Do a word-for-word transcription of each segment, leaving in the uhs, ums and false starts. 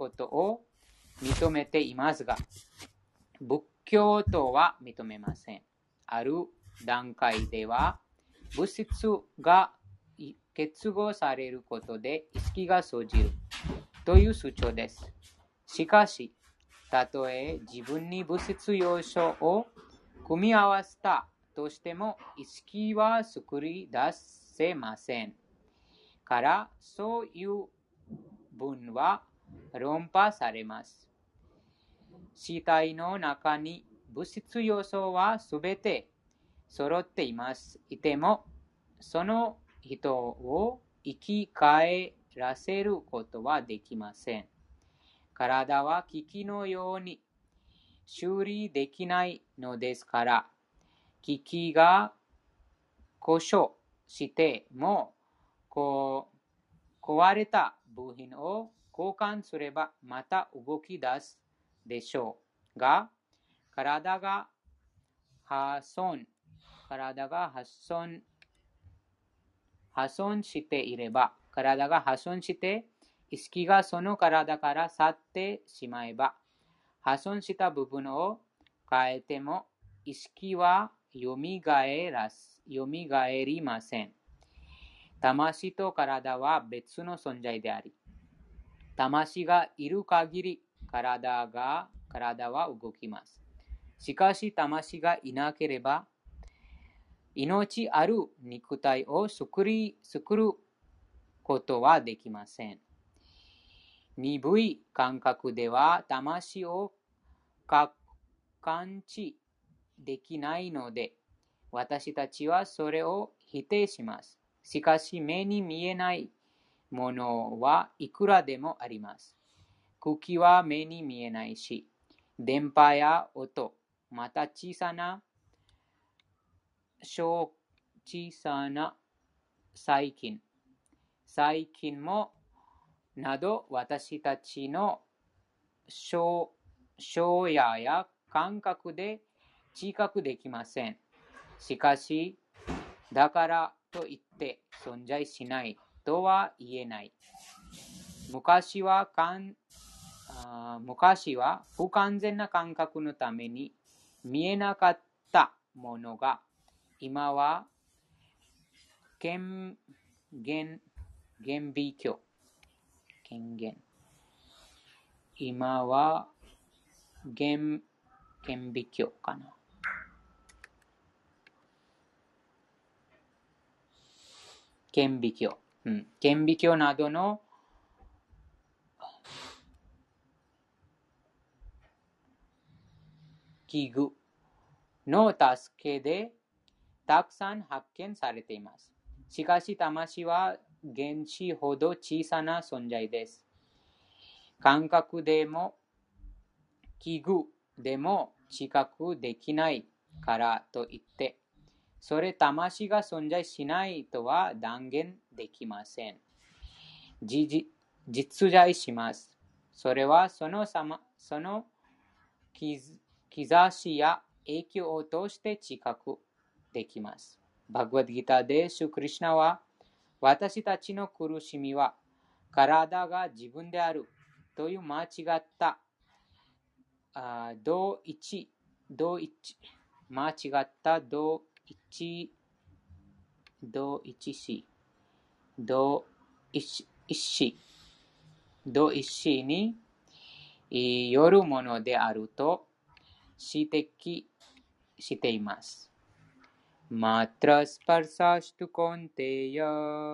ことを認めていますが、仏教徒は認めません。ある段階では、物質が結合されることで意識が生じるという主張です。しかし、たとえ自分に物質要素を組み合わせたとしても、意識は作り出せません。から、そういう文は論破されます。死体の中に物質要素はすべて揃っています。いても、その人を生き返らせることはできません。体は機器のように修理できないのですから、機器が故障しても、こう壊れた部品を交換すればまた動き出すでしょうが、体が破損、体が破損、破損していれば、体が破損して、意識がその体から去ってしまえば、破損した部分を変えても、意識はよみがえらす、よみがえりません。魂と体は別の存在であり、魂がいる限り、体が、体は動きます。しかし、魂がいなければ、命ある肉体を作り、作ることはできません。鈍い感覚では、魂を感知できないので、私たちはそれを否定します。しかし、目に見えないものはいくらでもあります。空気は目に見えないし、電波や音、また小さな小さな細菌、細菌もなど私たちの小野や感覚で知覚できません。しかし、だからといって存在しないとは言えない。昔はかんあ昔は不完全な感覚のために見えなかったものが、今は顕現顕微鏡顕現今は顕顕微鏡かな顕微鏡、うん、顕微鏡などの器具の助けでたくさん発見されています。しかし、魂は原子ほど小さな存在です。感覚でも器具でも知覚できないからといって、それ魂が存在しないとは断言できません。実在します。それはそのさま、その兆しや影響を通して知覚できます。バグワッドギターでシュクリシュナは、私たちの苦しみは体が自分であるという間違ったあ同一同一間違った同一同一視同一視同一視によるものであると指摘しています。マトラスパルサシトコンテヤ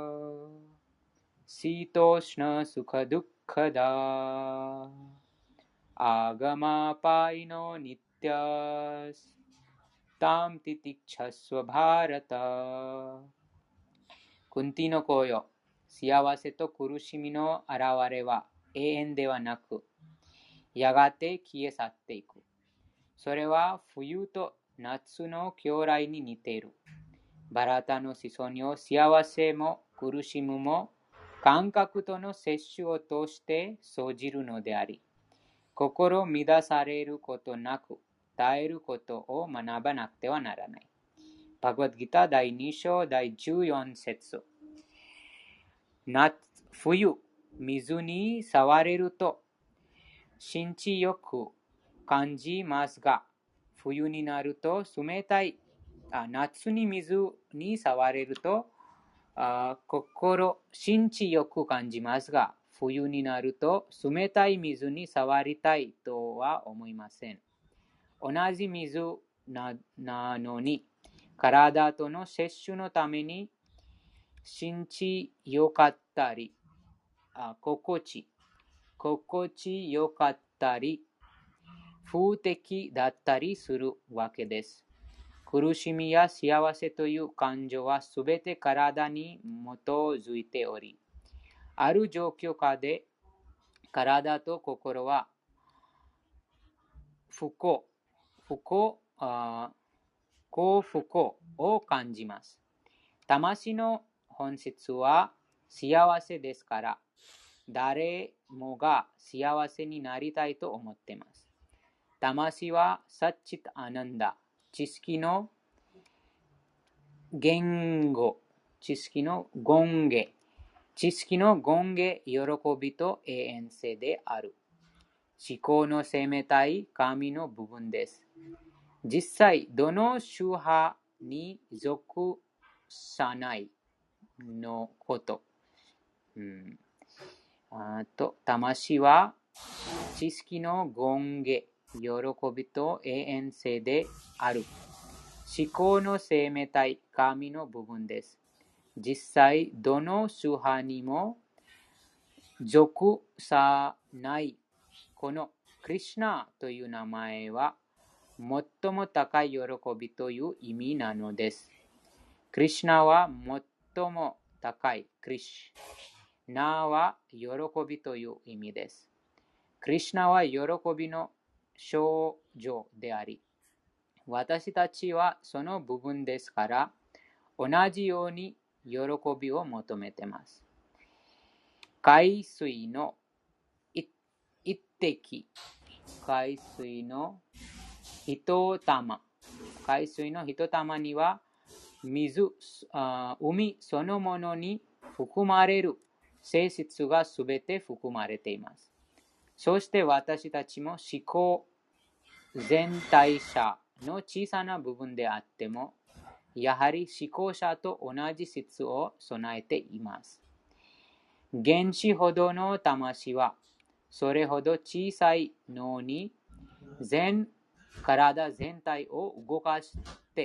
シトシナスカドゥッカダアガマパイノニティアスタムティティクチャスワバーラタ。クンティの子よ、幸せと苦しみの現れは永遠ではなく、やがて消え去っていく。それは冬と夏の将来に似ている。バラタの子孫よ、幸せも苦しみも感覚との摂取を通して生じるのであり、心乱されることなく耐えることを学ばなくてはならない。バグワッドギターだいに章だいじゅうよん節。夏、冬、水に触れると心地よく感じますが、冬になると冷たい、あ夏に水に触れるとあ心、心地よく感じますが、冬になると冷たい水に触りたいとは思いません。同じ水 な, なのに、体との摂取のために心地よかったり、あ心地、心地よかったり、風的だったりするわけです。苦しみや幸せという感情はすべて体に基づいており、ある状況下で体と心は不幸、不幸、あ幸福を感じます。魂の本質は幸せですから、誰もが幸せになりたいと思っています。魂はサッチッアナンダ、知識の言語、知識の権下、知識の権下、喜びと永遠性である。思考の生命体、神の部分です。実際、どの宗派に属さないのこと。うん、あと、魂は知識の権下、喜びと永遠性である。思考の生命体、神の部分です。実際、どの宗派にも属さないこのクリシュナという名前は最も高い喜びという意味なのです。クリシュナは最も高いクリシュナは喜びという意味です。クリシュナは喜びの象徴であり、私たちはその部分ですから、同じように喜びを求めています。海水の一滴、海水の一玉、海水の一玉には水、海そのものに含まれる性質がすべて含まれています。そして私たちも思考全体者の小さな部分であっても、やはり思考者と同じ質を備えています。原子ほどの魂は、それほど小さいのに、全体全体を動かして、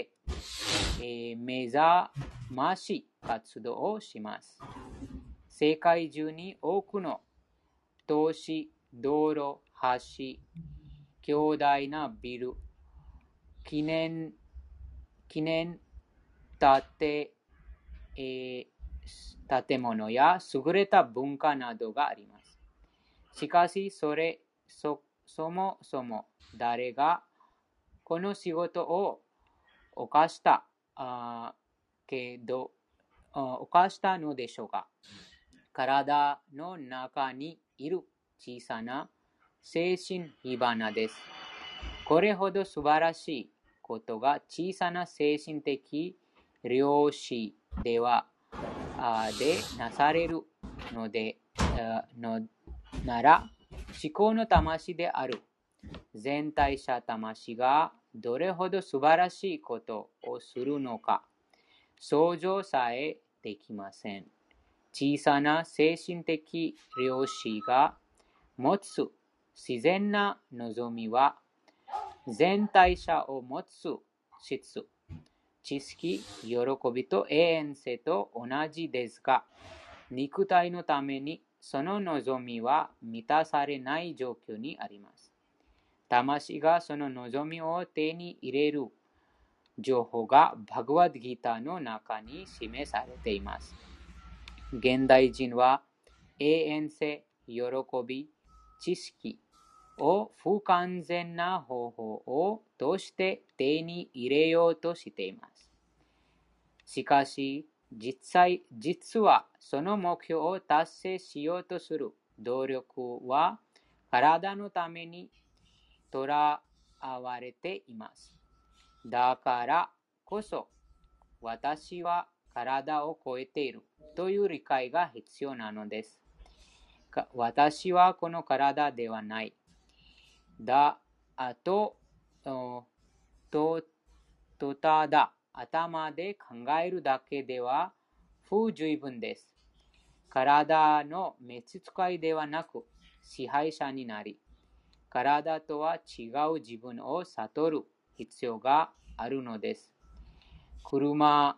えー、目覚まし活動をします。世界中に多くの都市、道路、橋、強大なビル、記念、記念建て、えー、建物や優れた文化などがあります。しかし、それ、そ、そもそも誰がこの仕事を犯したあけど犯したのでしょうか。体の中にいる小さな精神火花です。これほど素晴らしいことが小さな精神的量子ではでなされるのでのなら、思考の魂である全体者魂がどれほど素晴らしいことをするのか想像さえできません。小さな精神的量子が持つ自然な望みは全体者を持つ質、知識、喜びと永遠性と同じですが、肉体のためにその望みは満たされない状況にあります。魂がその望みを手に入れる情報がバグワッドギーターの中に示されています。現代人は永遠性、喜び、知識を不完全な方法を通して手に入れようとしています。しかし、実際、実はその目標を達成しようとする努力は体のためにとらわれています。だからこそ、私は体を超えているという理解が必要なのです。私はこの体ではない。 だと、と、とただ頭で考えるだけでは不十分です。体の召使いではなく支配者になり、体とは違う自分を悟る必要があるのです。車、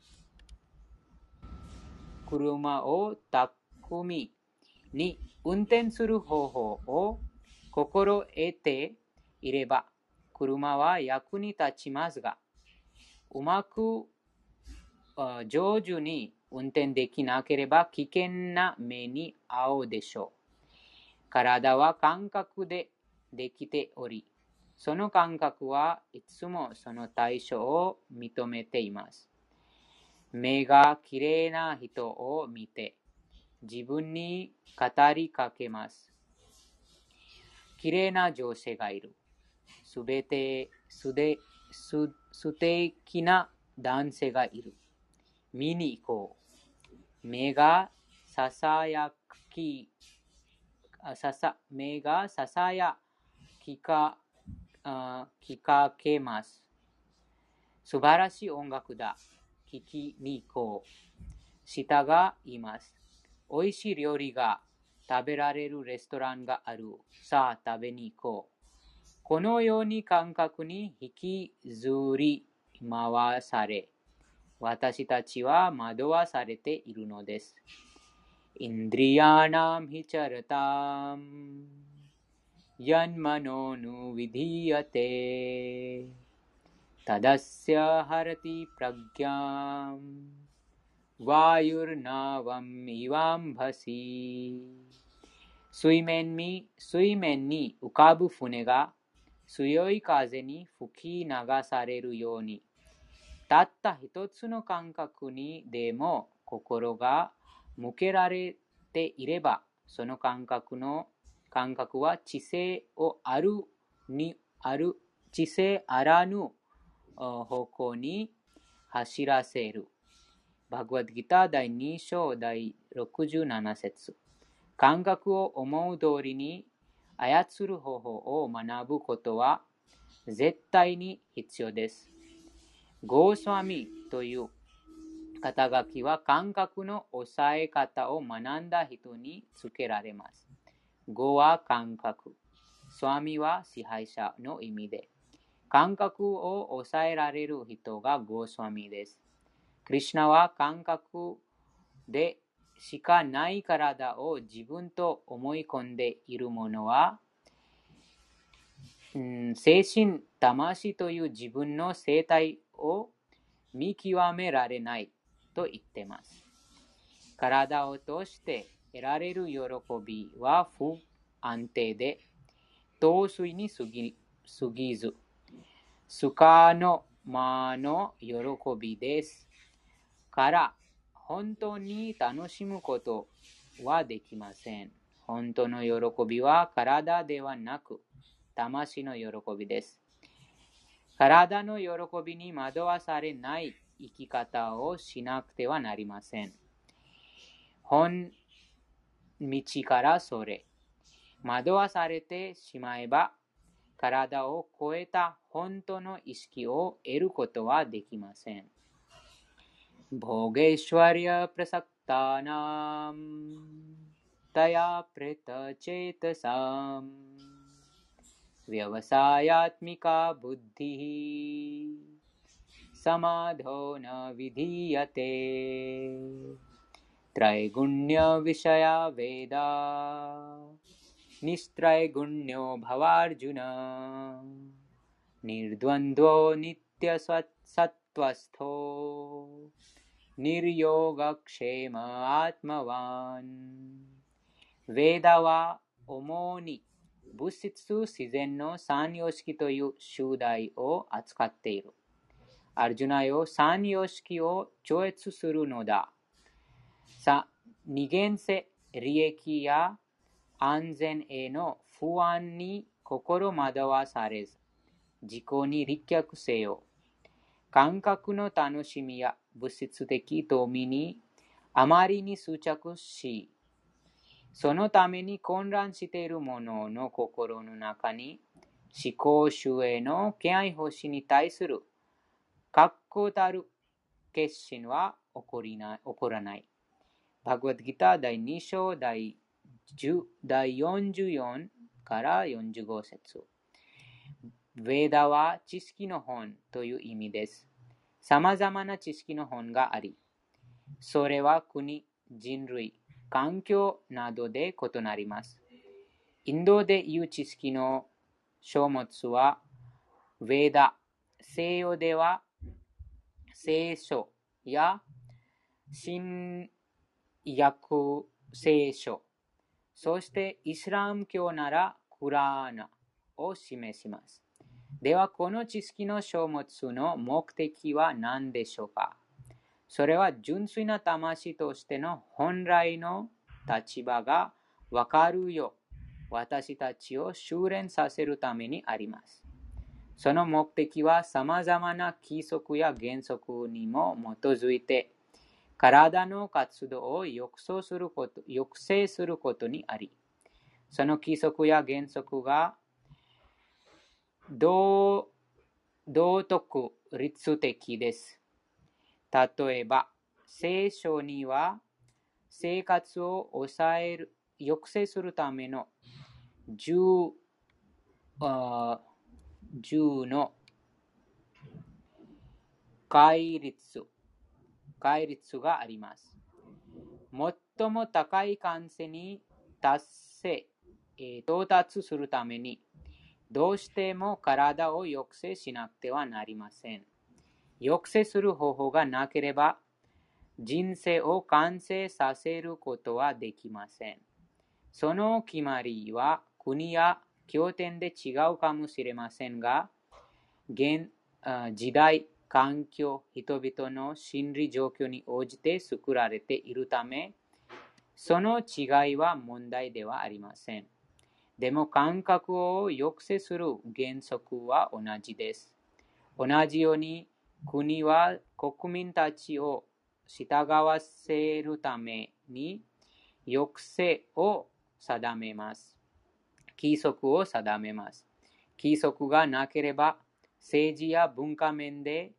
車を巧みに運転する方法を心得ていれば、車は役に立ちますが、うまく上手に運転できなければ危険な目に遭うでしょう。体は感覚でできており、その感覚はいつもその対象を認めています。目がきれいな人を見て、自分に語りかけます。きれいな女性がいる。すべてすで、す、素敵な男性がいる。見に行こう。目がささやき、ささ目がささやきか、あきかけます。素晴らしい音楽だ。聞きに行こう。舌が言います。おいしい料理が食べられるレストランがある。さあ食べに行こう。このように感覚に引きずり回され、私たちは惑わされているのです。インドリヤナムヒチャラタムヤンマノヌヴィディヤテタダッシャハラティプラギャムワユルナワムイワンバシ水面に、水面に浮かぶ船が強い風に吹き流されるように、たった一つの感覚にでも心が向けられていれば、その感覚の感覚は知性をあるにある知性あらぬ方向に走らせる。バグワッドギターだいに章だいろくじゅうなな節。感覚を思う通りに操る方法を学ぶことは絶対に必要です。ゴースワミという肩書きは感覚の抑え方を学んだ人につけられます。ゴは感覚、スワミは支配者の意味で、感覚を抑えられる人がゴースワミです。クリシュナは感覚でしかない体を自分と思い込んでいるものは、うん、精神、魂という自分の生態を見極められないと言っています。体を通して得られる喜びは不安定で、陶酔に過ぎ、過ぎず、スカの間の喜びですから、本当に楽しむことはできません。本当の喜びは体ではなく、魂の喜びです。体の喜びに惑わされない生き方をしなくてはなりません。本道からそれ、惑わされてしまえば、体を超えた本当の意識を得ることはできません。ボゲシュワリアプラサクタナムタヤプレタチェタサムव्यवसायात्मिका बुद्धिः समाधो न विधीयते त्रैगुण्यविषया वेदा निस्त्रैगुण्यो भवार्जुन निर्द्वन्द्वो नित्यसत्त्वस्थो निर्योगक्षेम आत्मवान् ヴェーダは主に物質自然の三様式という集題を扱っている。アルジュナよ、三様式を超越するのだ。さ、二元性、利益や安全への不安に心惑わされず、自己に立脚せよ。感覚の楽しみや物質的富にあまりに執着し、 そのために混乱している者の心の中に思考主への敬愛欲しに対する確固たる決心は起こりない、起こらない。バグワッドギターだいに章第よんじゅうよんからよんじゅうご節。ヴェーダは知識の本という意味です。さまざまな知識の本があり、それは国、人類、環境などで異なります。インドでいう知識の書物はヴェーダ、西洋では聖書や新約聖書、そしてイスラム教ならクラーナを示します。では、この知識の書物の目的は何でしょうか？それは純粋な魂としての本来の立場がわかるよう、私たちを修練させるためにあります。その目的はさまざまな規則や原則にも基づいて、体の活動を抑制すること、抑制することにあり、その規則や原則が道徳律的です。例えば、聖書には生活を抑える、抑制するためのじゅう、じゅうの戒律、戒律があります。最も高い完成に達成、到達するために、どうしても体を抑制しなくてはなりません。抑制する方法がなければ、人生を完成させることはできません。その決まりは国や経典で違うかもしれませんが、現時代、環境、人々の心理状況に応じて作られているため、その違いは問題ではありません。でも感覚を抑制する原則は同じです。同じように国は国民たちを従わせるために抑制を定めます。規則を定めます。規則がなければ政治や文化面で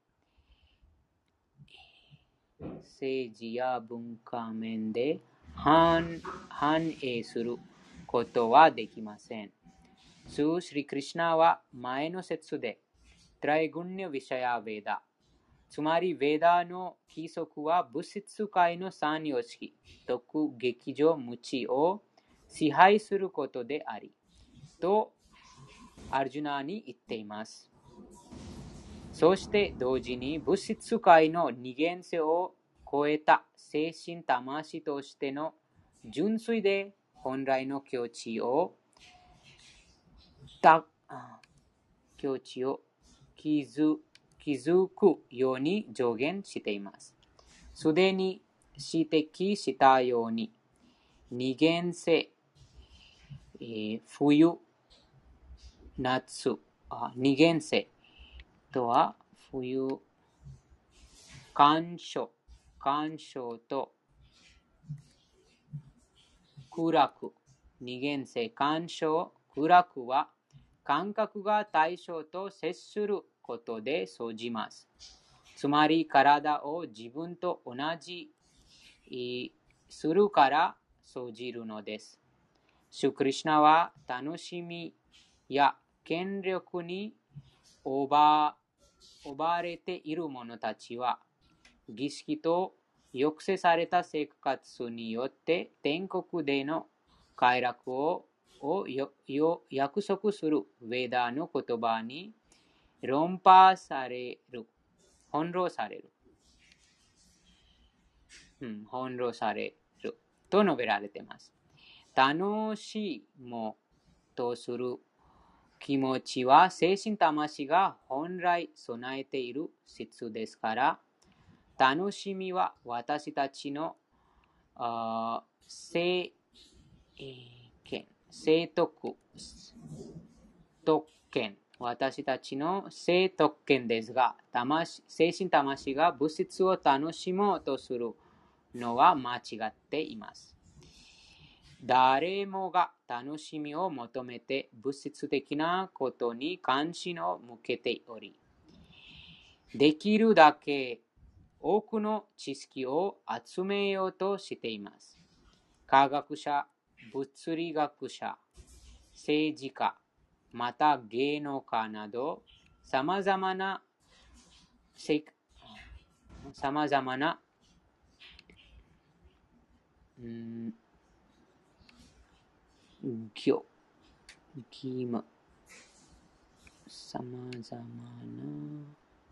政治や文化面で反映することはできません。主シリクリシュナは前の説でトライグニャ・ヴィシャヤ・ヴェーダ、つまりヴェーダの規則は物質界の三様式、徳、劇場、無知を支配することであり、とアルジュナに言っています。そして同時に物質界の二元性を超えた精神魂としての純粋で本来の境地をた境地を築くように助言しています。すでに指摘したように、二元性、えー、冬、夏、あ二元性とは冬、干渉、干渉と空楽、二元性、干渉、空楽は感覚が対象と接することで生じます。つまり体を自分と同じするから生じるのです。シュクリシュナは楽しみや権力に奪われている者たちは儀式と抑制された生活によって天国での快楽をを約束するヴェーダの言葉に論破される、翻弄される、うん、翻弄されると述べられています。楽しもうとする気持ちは精神魂が本来備えている質ですから、楽しみは私たちの性権、性徳、特権、私たちの性特権ですが、魂、精神魂が物質を楽しもうとするのは間違っています。 誰もが楽しみを求めて物質的なことに関心を向けており、できるだけ多くの知識を集めようとしています。科学者、物理学者、政治家、また芸能家など、さまざまなさまざまな、うん、業、義務、さまざまな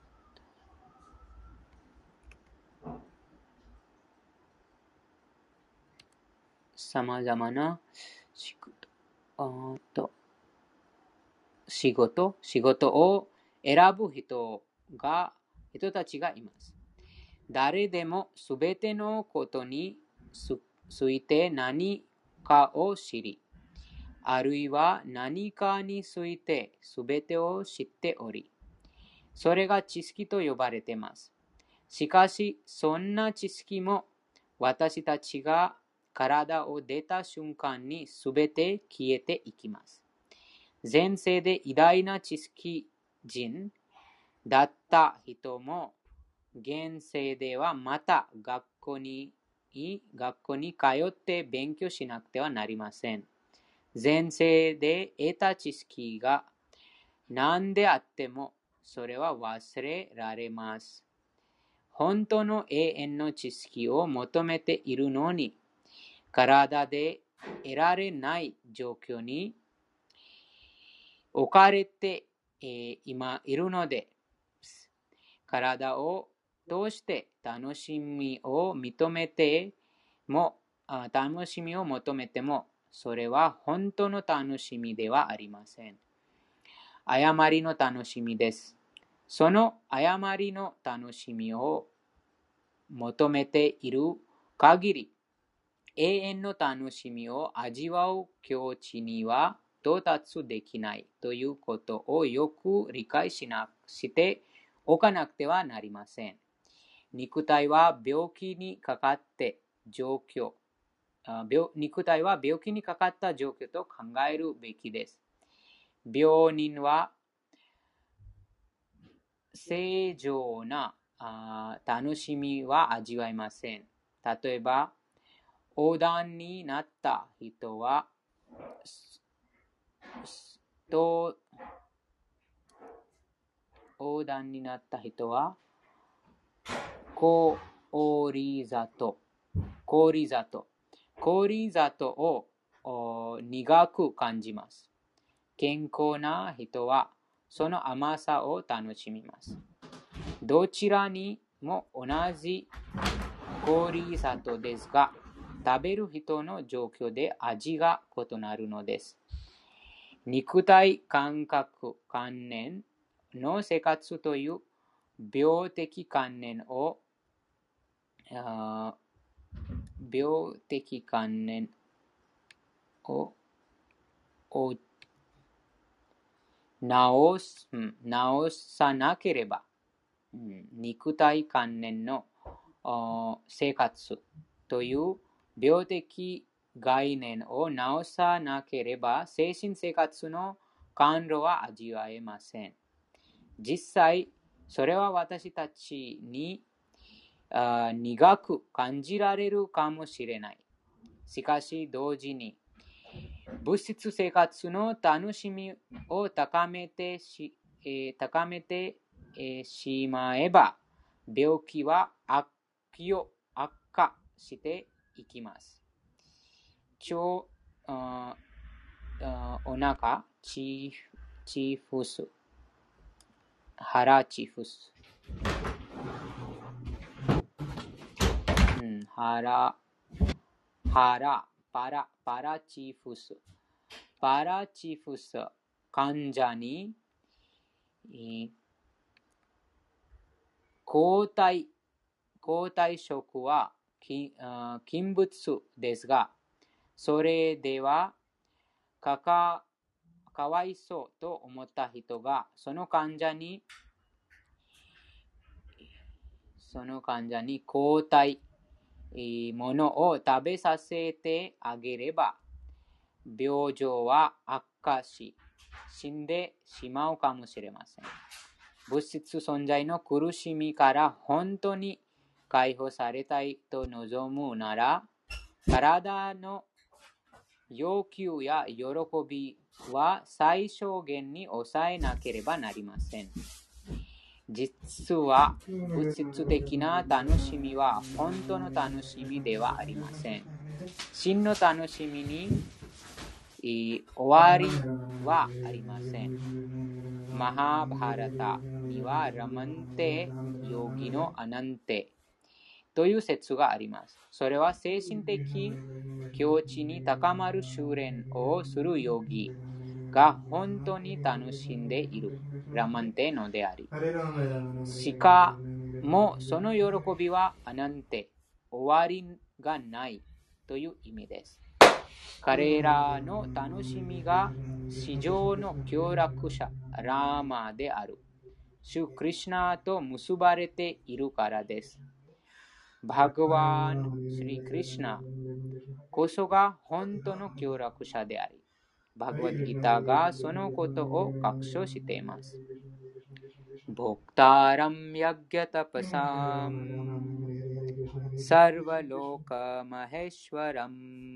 さまざまな仕事、あと仕事、仕事を選ぶ人が、人たちがいます。誰でもすべてのことについて何かを知り、あるいは何かについてすべてを知っており、それが知識と呼ばれています。しかし、そんな知識も私たちが体を出た瞬間にすべて消えていきます。前世で偉大な知識人だった人も、現世ではまた学校に、学校に通って勉強しなくてはなりません。前世で得た知識が何であっても、それは忘れられます。本当の永遠の知識を求めているのに、体で得られない状況に置かれて、えー、今いるので、体を通して楽しみを認めても、楽しみを求めても、それは本当の楽しみではありません。誤りの楽しみです。その誤りの楽しみを求めている限り、永遠の楽しみを味わう境地には到達できないということをよく理解しなしておかなくてはなりません。肉体は病気にかかって状況、病肉体は病気にかかった状況と考えるべきです。病人は正常な楽しみは味わいません。例えば、横断になった人は、と横断になった人は、氷里、氷里、氷里を苦く感じます。健康な人は、その甘さを楽しみます。どちらにも同じ氷里ですが、食べる人の状況で味が異なるのです。肉体感覚観念の生活という病的観念を病的観念をを直す、直さなければ、肉体観念の生活という病的概念を直さなければ、精神生活の感動は味わえません。実際、それは私たちに苦く感じられるかもしれない。しかし、同時に、物質生活の楽しみを高めてし、えー、高めて、えー、しまえば、病気は悪悪化していきます。腸、ああお腹、チーフス、腹チフス、うん、腹、腹、パラ、パラチフス、パラチフス患者に、えー、抗体、抗体食は禁物ですが、それではかか、かわいそうと思った人が、その患者に、その患者に抗体ものを食べさせてあげれば、病状は悪化し、死んでしまうかもしれません。物質存在の苦しみから本当に解放されたいと望むなら、体の要求や喜びは最小限に抑えなければなりません。実は物質的な楽しみは本当の楽しみではありません。真の楽しみに終わりはありません。マハバハラタにはラマンテヨギのアナンテという説があります。それは精神的境地に高まる修練をするヨギが本当に楽しんでいるラマンテのであり、しかもその喜びはアナンテ、終わりがないという意味です。彼らの楽しみが至上の協力者ラーマであるシュクリシュナと結ばれているからです。バガワン・シリ・クリシュナこそが本当の協力者であり、バガワッドギターがそのことを確証しています。ボクタラムヤギャタパサムサルヴァローカマヘシュワラム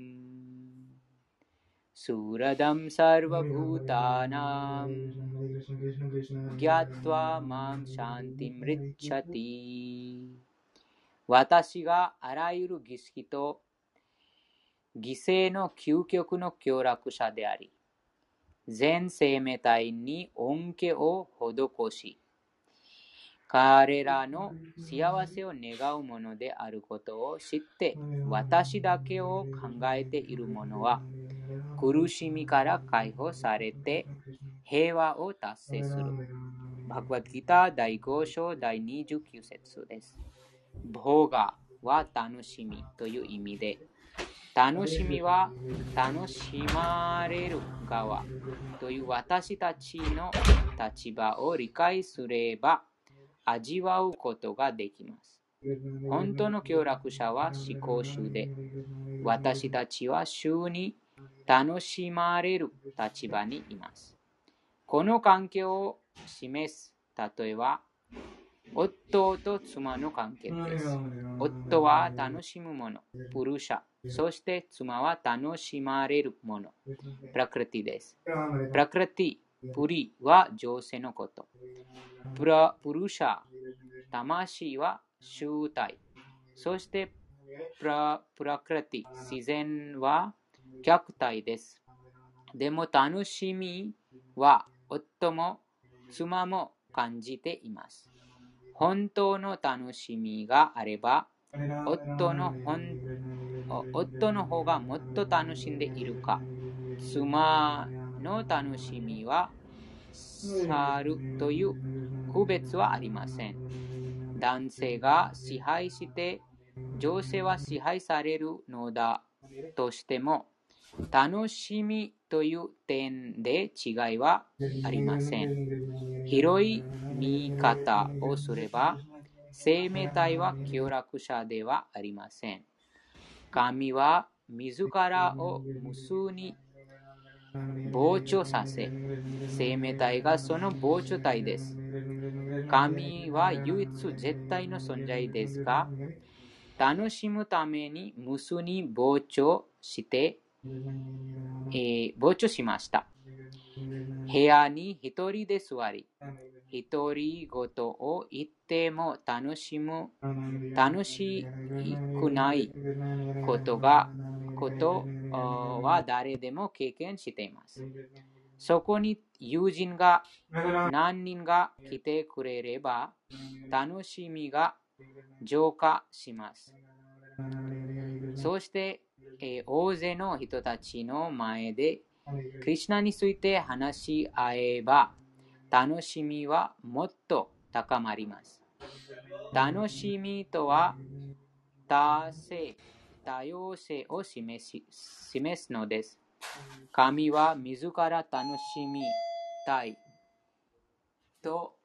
スーラダムサルヴァブータナムギャトワマムシャンティムリッチャティ。私があらゆる儀式と犠牲の究極の協力者であり、全生命体に恩恵を施し、彼らの幸せを願うものであることを知って、私だけを考えている者は、苦しみから解放されて平和を達成する。バガワッドギターだいご章だいにじゅうきゅう節です。ボーガは楽しみという意味で、楽しみは楽しまれる側という私たちの立場を理解すれば味わうことができます。本当の協力者は思考主で、私たちは主に楽しまれる立場にいます。この関係を示す例えは、夫と妻の関係です。夫は楽しむもの、プルシャ。そして妻は楽しまれるもの、プラクリティです。プラクリティ、プリは情勢のこと。プラプルシャ、魂は集体。そしてプラプラクリティ、自然は客体です。でも楽しみは夫も妻も感じています。本当の楽しみがあれば、夫の本夫の方がもっと楽しんでいるか、妻の楽しみは去るという区別はありません。男性が支配して女性は支配されるのだとしても、楽しみという点で違いはありません。広い見方をすれば、生命体は協力者ではありません。神は自らを無数に膨張させ、生命体がその膨張体です。神は唯一絶対の存在ですが、楽しむために無数に膨張して、えー、膨張しました。部屋に一人で座り、独り言を言っても楽しむ、楽しくないことが、ことは誰でも経験しています。そこに友人が何人が来てくれれば、楽しみが浄化します。そして、えー、大勢の人たちの前でクリシュナについて話し合えば、楽しみはもっと高まります。楽しみとは多性、多様性を示し、示すのです。神は自ら楽しみたいと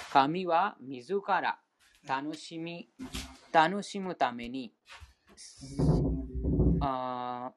神は自ら楽しみ、楽しむためにあ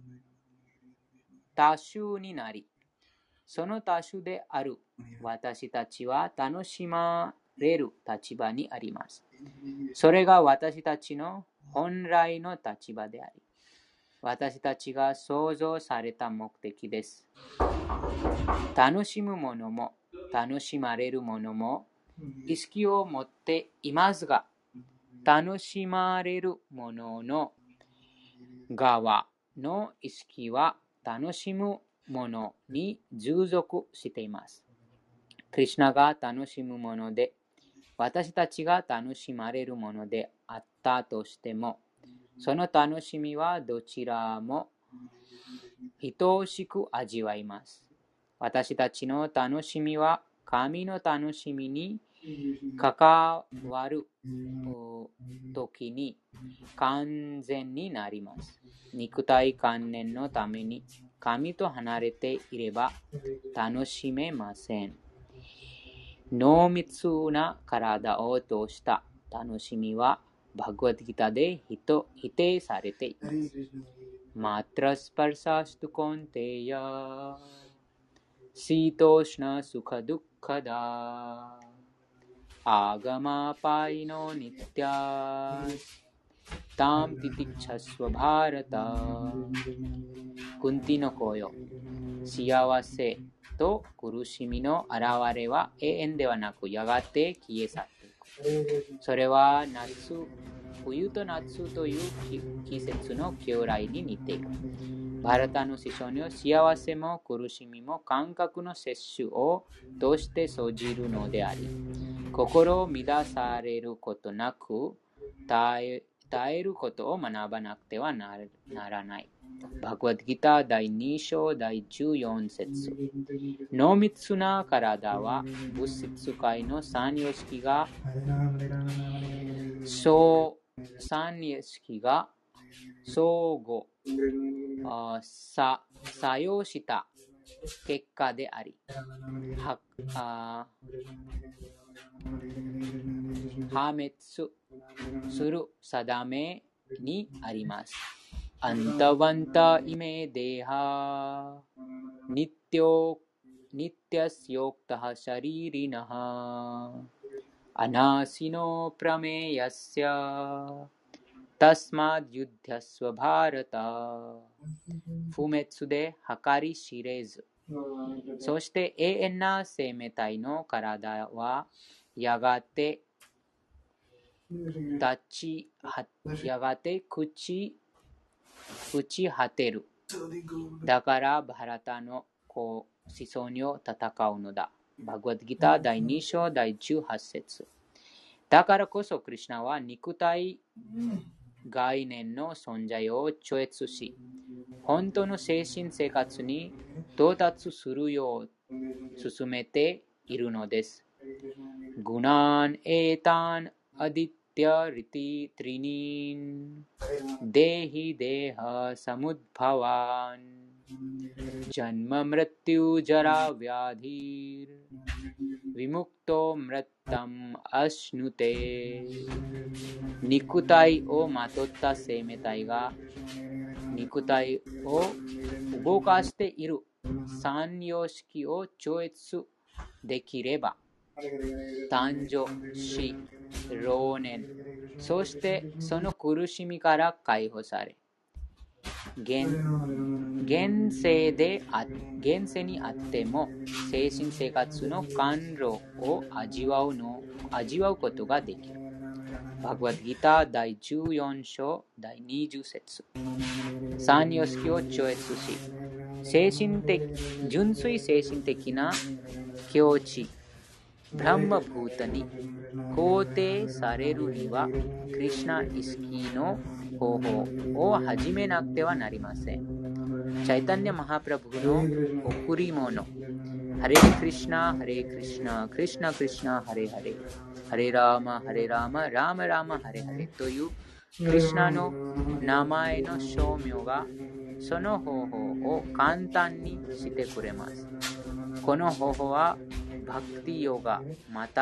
多種になり、その多種である私たちは楽しまれる立場にあります。それが私たちの本来の立場であり、私たちが創造された目的です。楽しむものも楽しまれるものも意識を持っていますが、楽しまれるものの側の意識は楽しむものに従属しています。クリシュナが楽しむもので、私たちが楽しまれるものであったとしても、その楽しみはどちらも等しく味わいます。私たちの楽しみは神の楽しみに関わるときに完全になります。肉体観念のために神と離れていれば楽しめません。濃密な体を通した楽しみはバグワッドギターで否定されています。マトラスパルサストコンテヤシトシナスカドゥッカダアガマパイノニティアタムティティクチャスワバラタクンティの子よ、幸せと苦しみの現れは永遠ではなくやがて消え去っていく。それは夏、冬と夏という季節の到来に似ている。バラタの師匠には幸せも苦しみも感覚の摂取を通して生じるのであり、心を乱されることなく耐え、耐えることを学ばなくてはならない。バグワッドギターだいに章だいじゅうよん節。濃密な体は物質界の三様式が相三様式が相互さ作用した結果であり、はあ破滅する定めにあります。アンタワンタイメデハニティニティスヨクタハシャリリナハアナシノプラメヤスヤタスマユッディスワバラタ不滅で計り知れず、そして永遠な生命体の体はやがて立ちやがて朽ち朽ち果てる。だからバラタの子孫を戦うのだ。バグワッドギターだいに章だいじゅうはち節。だからこそクリシュナは肉体概念の存在を超越し、本当の精神生活に到達するよう進めているのです。グナンエータンアディティアリティトリニンデヒデハサムッバワンジャンマムラティウジャラヴィアディルヴィムクトムラタムアシヌテ。肉体をまとった生命体が肉体を動かしている三様式を超越できれば、誕生、死、老年、そしてその苦しみから解放され、現, 現世であ現世にあっても精神生活の感動を味わうの味わうことができる。バグワッドギターだいじゅうよん章だいにじゅう節。三様式を超越し、精神的純粋精神的な境地ブランマブータに肯定されるには、クリシュナ意識の方法を始めなくてはなりません。チャイタンニャマハプラブの贈り物、ハレクリシュナ、ハレクリシュナ、クリシュナクリシュナ、ハレハレ、ハレラーマ、ハレラーマ、ラーマラーマ、ハレハレというクリシュナの名前の称名がその方法を簡単にしてくれます。この方法はバクティヨガまた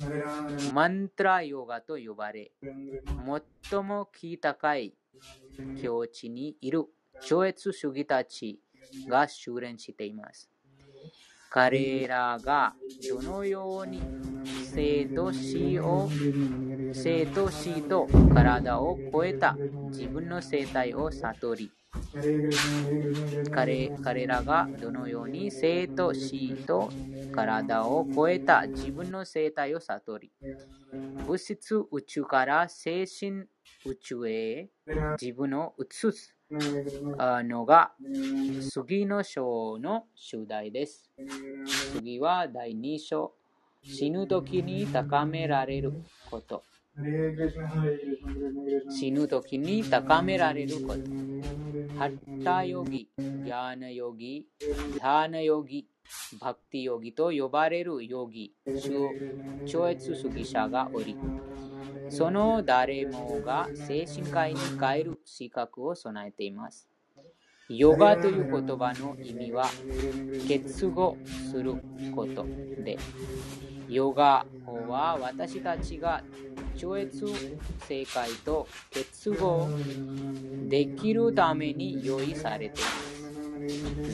マントラヨガと呼ばれ、最も気高い境地にいる超越主義たちが修練しています。彼らがどのように生と死を生と死と体を超えた自分の生態を悟り、彼, 彼らがどのように生と死と体を超えた自分の生態を悟り、物質宇宙から精神宇宙へ自分を移すのが次の章の主題です。次はだいに章、死ぬ時に高められること。死ぬ時に高められること。ハッタヨギ、ギャーナヨギ、ダーナヨギ、バクティヨギと呼ばれるヨギ、超越主義者がおり、その誰もが精神界に帰る資格を備えています。ヨガという言葉の意味は結合することで、ヨガは私たちが超越世界と結合できるために用意されています。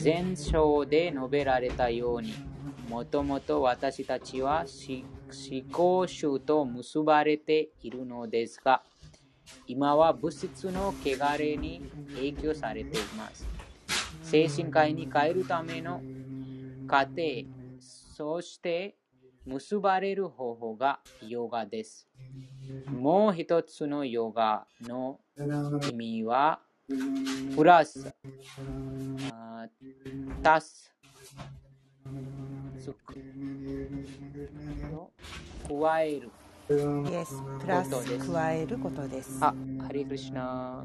前章で述べられたように、もともと私たちは思考主と結ばれているのですが、今は物質の汚れに影響されています。精神界に帰るための過程、そして結ばれる方法がヨガです。もう一つのヨガの意味はプラス、足す、加える。 Yes、プラス加えることです。 あ、ハリクリシナ。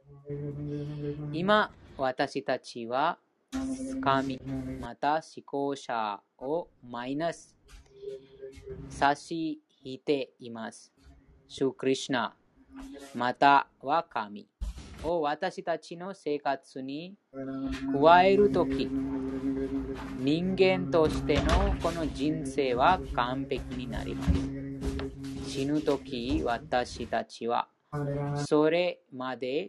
今、私たちは神また思考者をマイナス差し引いています。シュクリシナまたは神を私たちの生活に加えるとき、人間としてのこの人生は完璧になります。死ぬとき、私たちはそれまで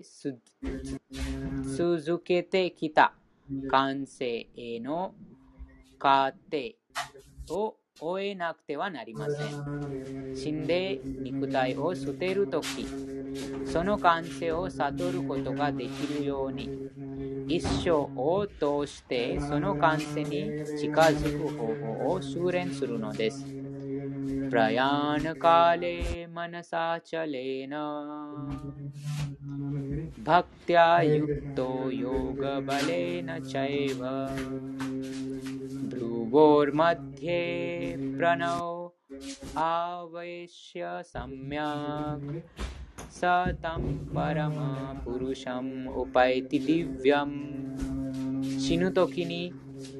続けてきた完成への過程を終えなくてはなりません。死んで肉体を捨てるとき、その完成を悟ることができるように、一生を通してその完成に近づく方法を修練するのです。プラヤナカレマナサチャレナバクティアユクトヨガバレナチャエバブルゴーマディエプラナオアヴェシャサミャクサタンパラマプルシャムオパイティディヴィアム。死ぬときに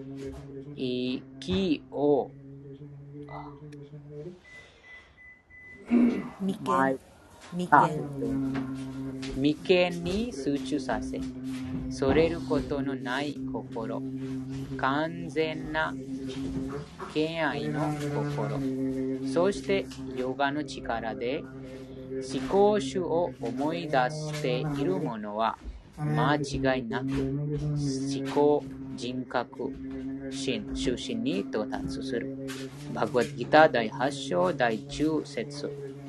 息を眉間眉間眉間に集中させ、それることのない心、完全な敬愛の心、そしてヨガの力で思考主を思い出しているものは間違いなく思考人格心中心に到達する。バグワッドギターだいはち章だいじゅう節。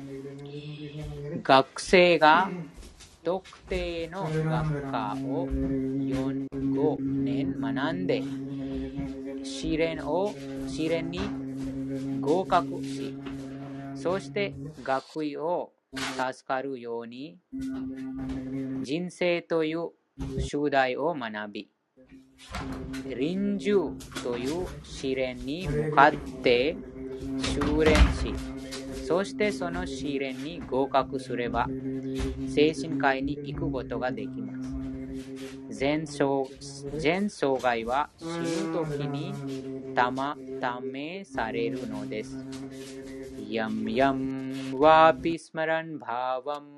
学生が特定の学科をよん、ごねん学んで試練を試練に合格し、そして学位を助かるように人生という宿題を学び、臨終という試練に向かって修練し、そしてその試練に合格すれば精神界に行くことができます。全障害は死ぬ時にたまためされるのです。ヤムヤムワピスマランバーワム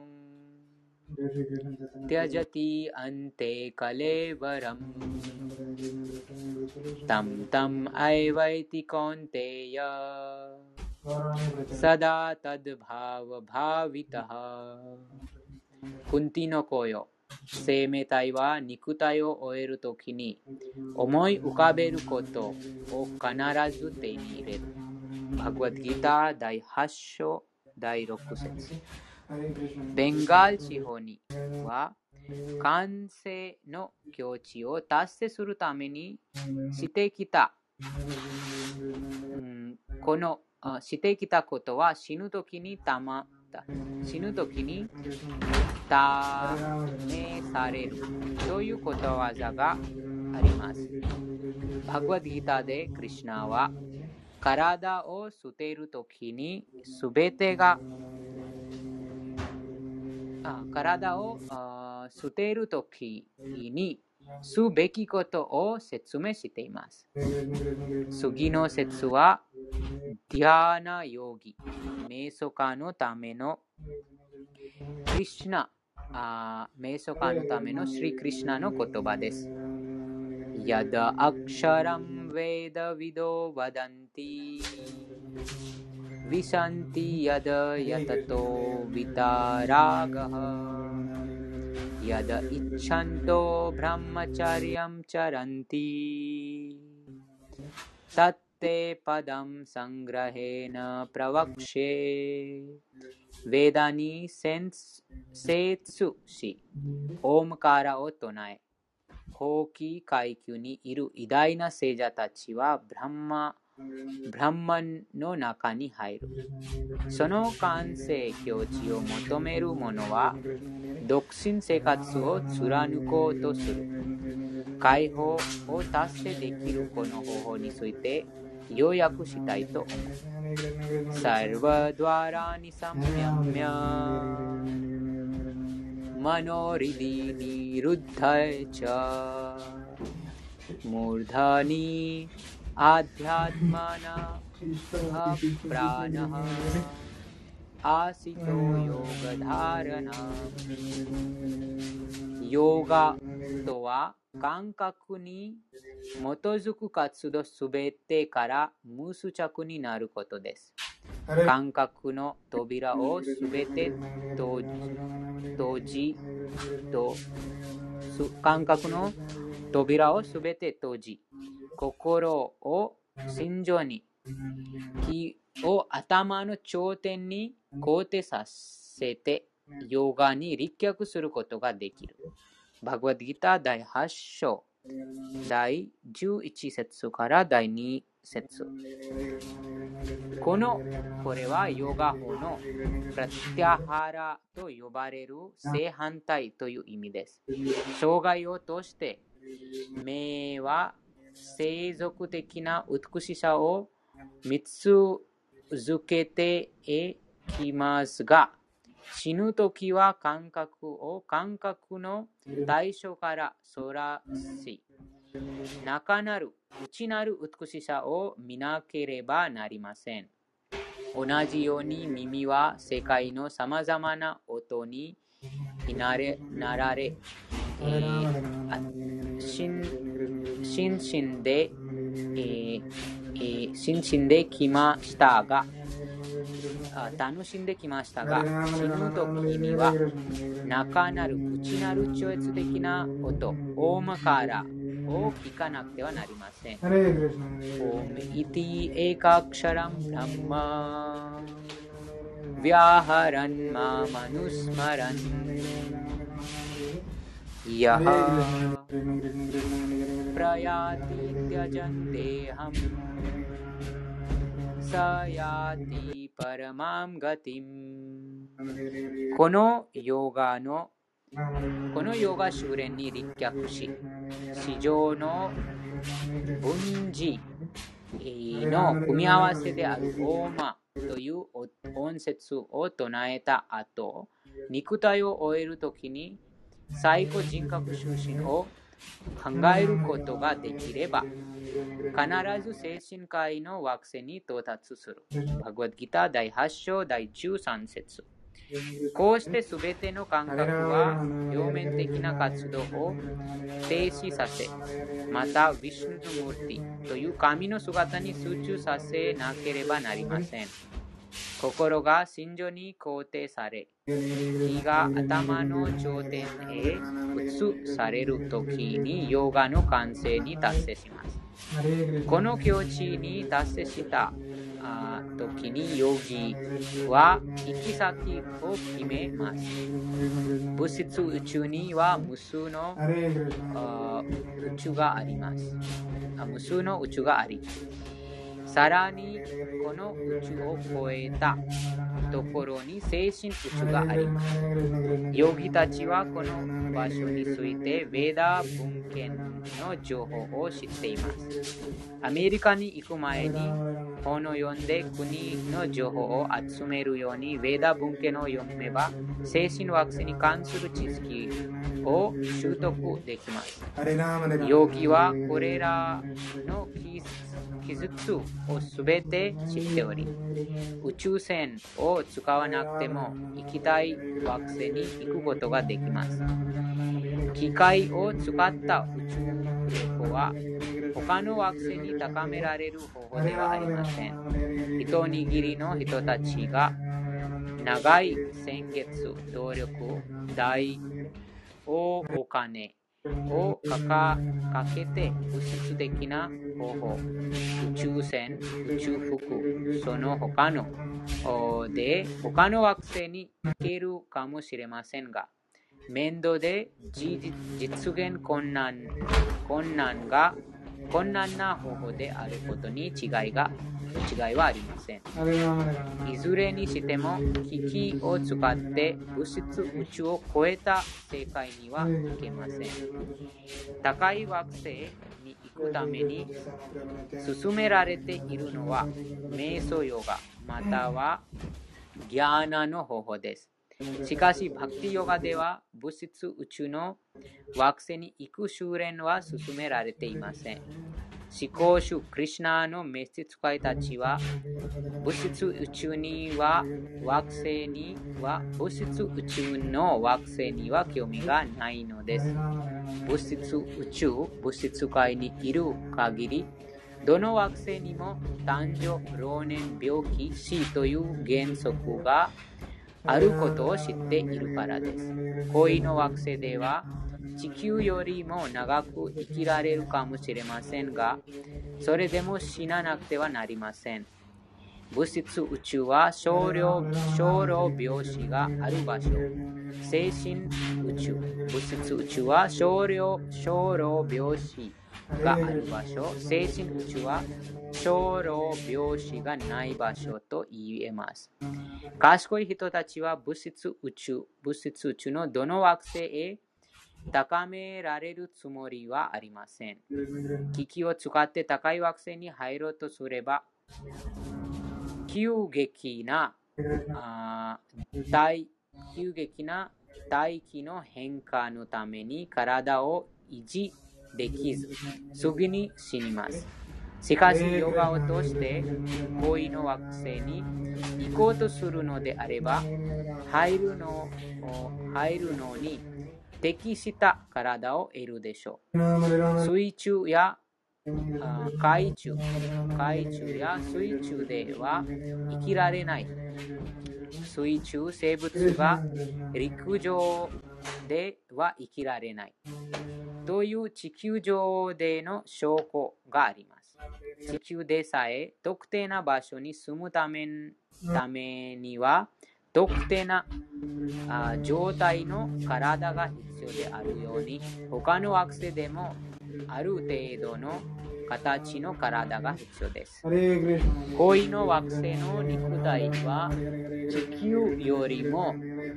テャジャティアンテカレバラムタムタムアイワイティコンテヤサダタドバーバーヴィタハ。クンティの子よ、生命体は肉体を終えるときに思い浮かべることを必ず手に入れる。バグワッドギターだいはち章だいろく節。ベンガル地方には完成の境地を達成するためにしてきた、うん、このしてきたことは死ぬときにたまった死ぬときに試されるということわざがあります。バグワッドギターでクリシュナは体を捨てるときにすべてがあ体をあ捨てるときにすべきことを説明しています。次の説はディアナヨギ、瞑想家のためのクリシュナ、あ瞑想家のためのシリクリシュナの言葉です。ヤダアクシャラムヴェダヴィドワダンティヴィシャンティヤダヤタトヴィタラガハヤダイッチャントブランマチャリアムチャランティタッテパダムサングラヘナプラワクシェヴェダに精通しオームカラを唱え、高貴階級にいる偉大な聖者たちはブランマブランマンの中に入る。その完成境地を求める者は独身生活を貫こうとする。解放を達成できるこの方法について要約したいと思う。サルバドワラニサムミャミャマノリディニルッタエチャムルダニアディアッマナアプラナアシトヨガダラナ。ヨガとは感覚に基づく活動すべてから無執着になることです。感覚の扉をすべて閉じと感覚の扉をすべて閉じ、心を心情に気を頭の頂点に肯定させてヨガに立脚することができる。バグワッドギターだいはち章だいじゅういち節からだいに節。このこれはヨガ法のプラティアハラと呼ばれる正反対という意味です。生涯を通して目は世俗的な美しさを見続けてきますが、死ぬときは感覚を感覚の対象からそらし、中なる内なる美しさを見なければなりません。同じように耳は世界のさまざまな音になれなられ、えー、心身で、えーえー、心身できましたが楽しんできましたが、死ぬ時には中なる内なる超越的な音、オーマカラを聞かなくてはなりません。オームイティエカクシャランブランマヴィアハランママヌスマランヤハプラヤティティアジャンデハムサヤティパラマムガティム。このヨガのこのヨガ修練に立脚し、市場の分子の組み合わせであるオーマという音節を唱えた後、肉体を終えるときに最高人格出身を考えることができれば、必ず精神科医の惑星に到達する。バグワッドギターだいはち章だいじゅうさん節。こうしてすべての感覚は表面的な活動を停止させ、またヴィシュヌムーティという神の姿に集中させなければなりません。 心が真珠に肯定され、火が頭の頂点へ移されるときにヨガの完成に達成します。この境地に達成したときにヨギは行き先を決めます。物質宇宙には無数の宇宙があります。無数の宇宙があり、さらにこの宇宙を超えたところに精神宇宙があります。ヨギたちはこの場所についてヴェダ文献の情報を知っています。アメリカに行く前に本を読んで国の情報を集めるようにヴェダ文献を読めば精神惑星に関する知識を習得できます。ヨギはこれらの記述をすべて知っており、宇宙船を使わなくても行きたい惑星に行くことができます。機械を使った宇宙旅行は他の惑星に高められる方法ではありません。一握りの人たちが長い先月、努力、大お金をかかけて物質的な方法、宇宙船、宇宙服、その他ので他の惑星に行けるかもしれませんが、面倒で実現困難、困難が困難な方法であることに違いが違いはありません。いずれにしても機器を使って物質宇宙を超えた世界には行けません。高い惑星に行くために進められているのは瞑想ヨガまたはギャーナの方法です。しかし、バクティヨガでは物質宇宙の惑星に行く修練は進められていません。思考主クリシュナの召使いたちは物質宇宙には惑星には物質宇宙の惑星には興味がないのです。物質宇宙、物質界にいる限り、どの惑星にも誕生、老年、病気、死という原則があることを知っているからです。恋の惑星では地球よりも長く生きられるかもしれませんが、それでも死ななくてはなりません。物質宇宙は少量、少量病死がある場所。精神宇宙、物質宇宙は少量、少量病死がある場所。精神宇宙は少量病死がない場所と言えます。賢い人たちは物質宇宙、物質宇宙のどの惑星へ高められるつもりはありません。機器を使って高い惑星に入ろうとすれば、急激な大急激な大気の変化のために体を維持できず、すぐに死にます。しかし、ヨガを通して恋の惑星に行こうとするのであれば、入るの、入るのに適した体を得るでしょう。水中や海中、海中や水中では生きられない。水中生物が陸上では生きられない。という地球上での証拠があります。地球でさえ特定な場所に住むため、ためには特定な状態の体が必要であるように、他の惑星でもある程度の形の体が必要です。恋の惑星の肉体は地球よりも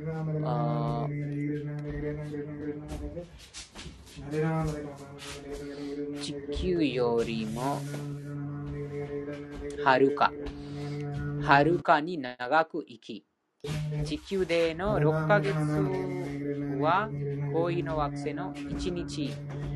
地球よりもはるかはるかに長く生き、地球でのろっかげつは恋の惑星のいちにち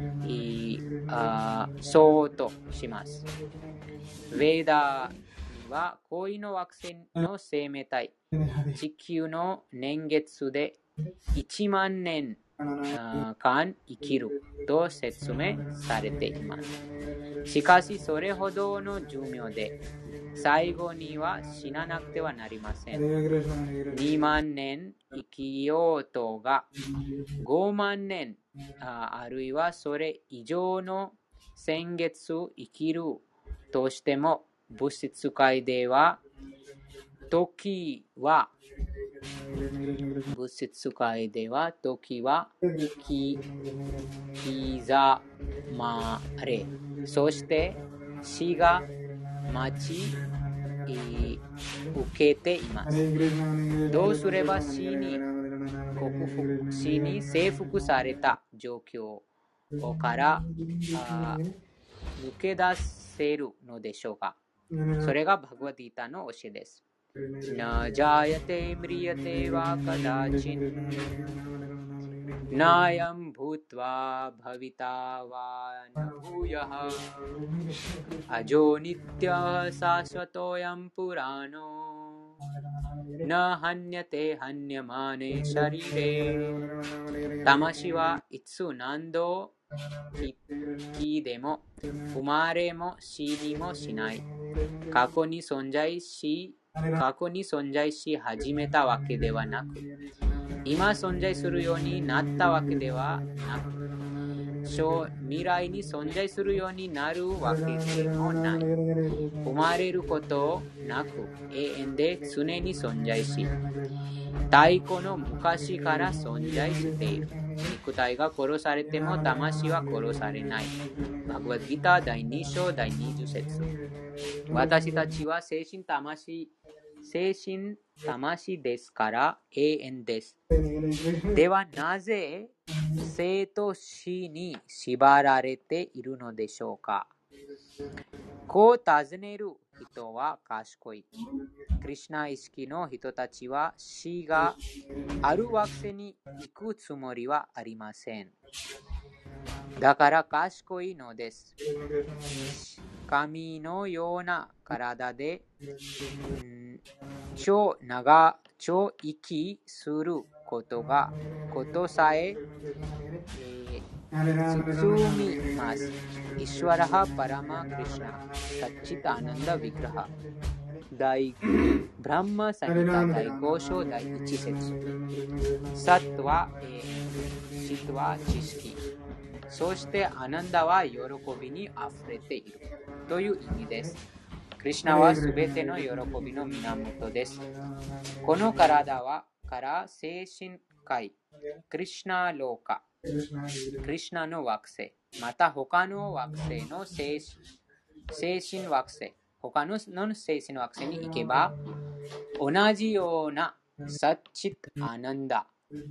そうとします。ヴェーダには恋の惑星の生命体、地球の年月でいちまんねん間生きると説明されています。 しかしそれほどの寿命で最後には死ななくてはなりません。にまんねん生きようとがごまんねん あ, あるいはそれ以上の先月生きるとしても、物質界では時は物質界では時はき刻まれ、そして死が待ち受けています。どうすれば死に克服死に征服された状況から抜け出せるのでしょうか。それがバグワディータの教えです。なジャヤテムリヤテワカダチンナヤンブートワバビタワナブヤハアジョニティアサスワトヤンプラノナハニャテハニャマネシャリレ。魂はいつ何度きでも生まれも死にもしない。過去に存在し過去に存在し始めたわけではなく、今存在するようになったわけではなく、未来に存在するようになるわけでもない。生まれることなく永遠で常に存在し、太古の昔から存在している。肉体が殺されても魂は殺されない。バグワッドギターだいに章だいにじゅう節。私たちは精神魂精神魂ですから永遠です。ではなぜ生と死に縛られているのでしょうか。こう尋ねる人は賢い。クリシュナ意識の人たちは死がある惑星に行くつもりはありません。だから賢いのです。神のような体で、うん、超長超生きすることがことさええー、包みます。イシュワラハパラマクリシュナサッチタアナンダヴィグラハ大ブランマサニタ第ご章第いち節。サットは、えー、シットは知識、そしてアナンダは喜びにあふれているという意味です。クリシュナはすべての喜びの源です。この体はから精神界、クリシュナローカ、クリシュナの惑星、また他の惑星の精神惑星、他の精神惑星に行けば、同じようなサッチッアナンダ、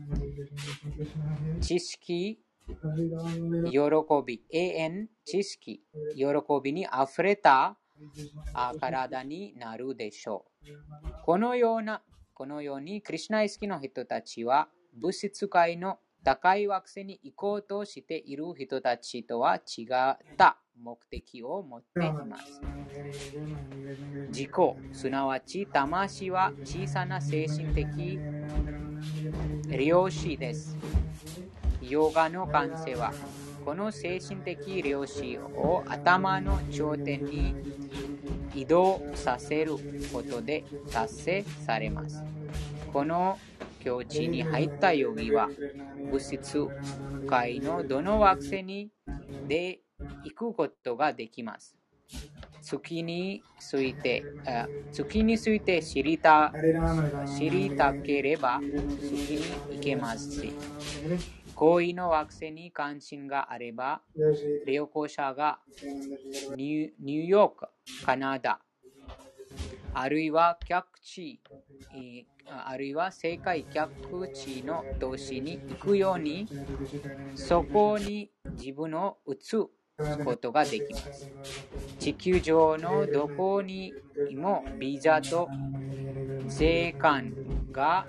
知識、喜び、永遠、知識、喜びにあふれた体になるでしょう。このような、このようにクリシュナ意識の人たちは物質界の高い惑星に行こうとしている人たちとは違った目的を持っています。自己、すなわち魂は小さな精神的量子です。ヨガの完成はこの精神的量子を頭の頂点に移動させることで達成されます。この境地に入ったヨギは物質界のどの惑星にで行くことができます。月について、月について知りた、知りたければ月に行けますし、恋の惑星に関心があれば、旅行者がニュ、ニューヨーク、カナダ、あるいは極地、あるいは世界極地の都市に行くように、そこに自分を移すことができます。地球上のどこにもビザと税関が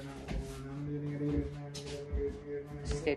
設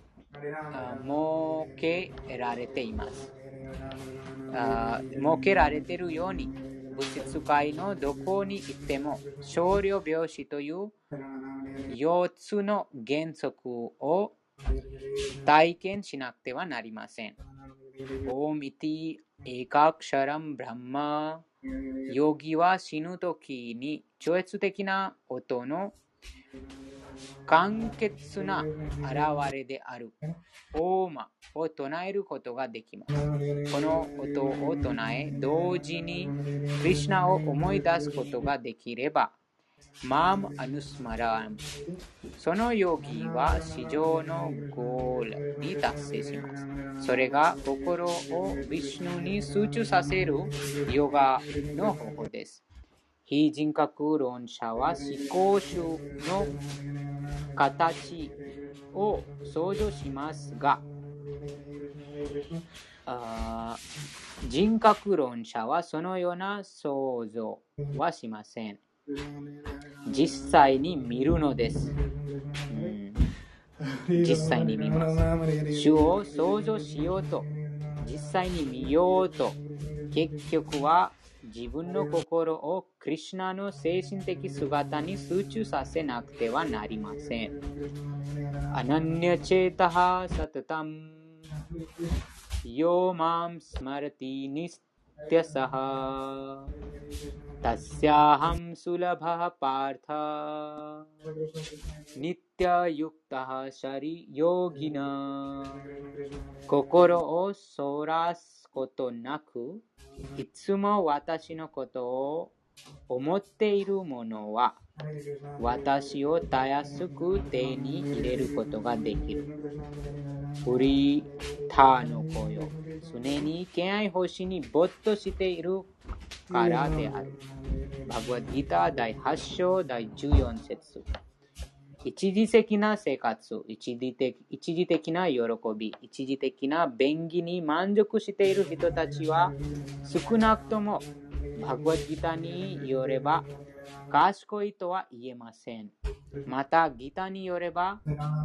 けられています。設けられているように、物質界のどこに行っても少量病死というよっつの原則を体験しなくてはなりません。 オーミティエカクシャラムブランマ。ヨギは死ぬときに超越的な音の簡潔な現れであるオーマを唱えることができます。この音を唱え、同時にクリシュナを思い出すことができれば、マーム・アヌスマラン。そのヨギは至上のゴールに達成します。それが心をビシュヌに集中させるヨガの方法です。非人格論者は思考主の形を想像しますが、あ人格論者はそのような想像はしません。実際に見るのです。うん、実際に見ます。主を想像しようと、実際に見ようと、結局は自分の心をクリシュナの精神的姿に集中させなくてはなりません。アナニャチェタハサタタムヨマムスマラティニスティサハタスヤハムスラバパータニティユクタハシャリヨギナ。心をそらすことなく、いつも私のことを思っているものは、私をたやすく手に入れることができる。プリタの子よ、常に敬愛欲しに没頭しているからである。バグワッドギーターだいはち章だいじゅうよん節。一時的な生活、一時的、一時的な喜び、一時的な便宜に満足している人たちは、少なくともバグワッドギーターによれば賢いとは言えません。またギターによれば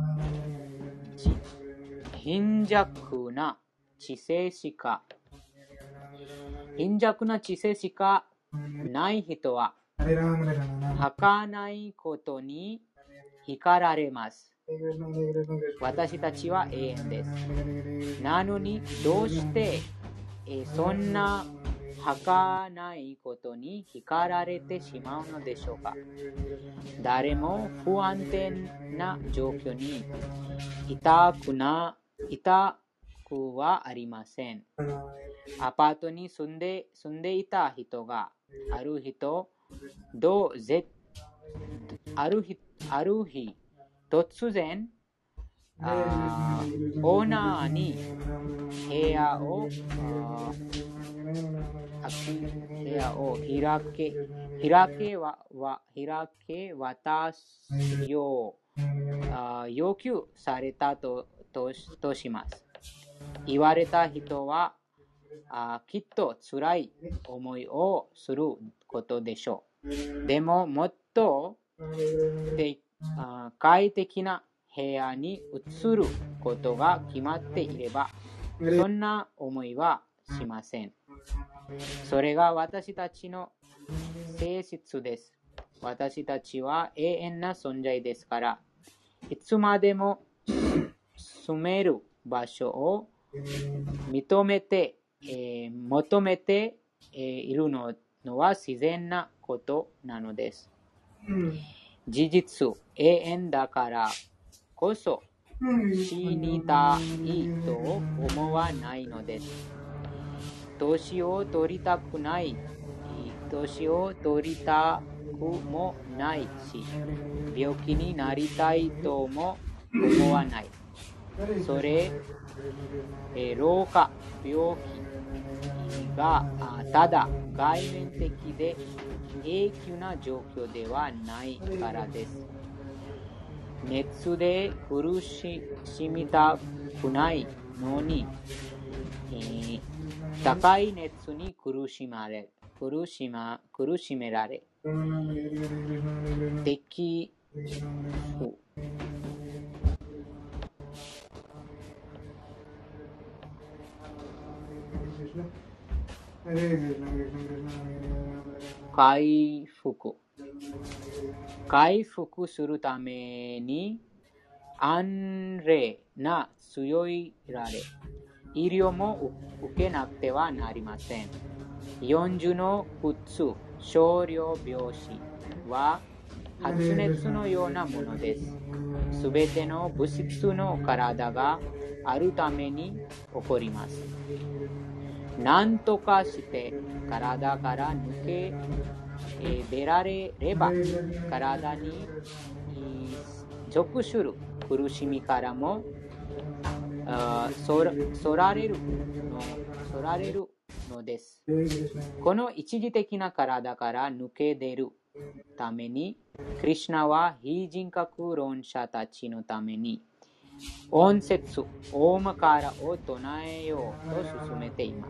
貧弱な知性しか貧弱な知性しかない人は儚いことに光られます。私たちは永遠です。なのにどうしてそんな儚いことに光られてしまうのでしょうか。誰も不安定な状況にいたくな、いたくはありません。アパートに住んで、住んでいた人がある日とどうぜある日、ある日突然あオーナーに部屋を部屋を開け開けは開け渡すよう要求されたと、と、とします。言われた人はあきっと辛い思いをすることでしょう。でももっと快適な部屋に移ることが決まっていれば、そんな思いはしません。それが私たちの性質です。私たちは永遠な存在ですから、いつまでも住める場所を認めて、えー、求めて、えー、いるのは自然なことなのです。事実、永遠だからこそ死にたいと思わないのです。年を取りたくない、年を取りたくもないし、病気になりたいとも思わない。それ、えー、老化、病気がただ外面的で永久な状況ではないからです。熱で苦しみたくないのに、えー、高い熱に苦しまれ、苦しま、苦しめられ、敵不回復回復するために安寧な強いられ医療も受けなくてはなりません。よんじゅうの普通、少量病死は発熱のようなものです。すべての物質の体があるために起こります。何とかして体から抜け出られれば、体に属する苦しみからもそられるの、そられるのです。この一時的な体から抜け出るために、クリシュナは非人格論者たちのために音節オーマカラを唱えようと進めています。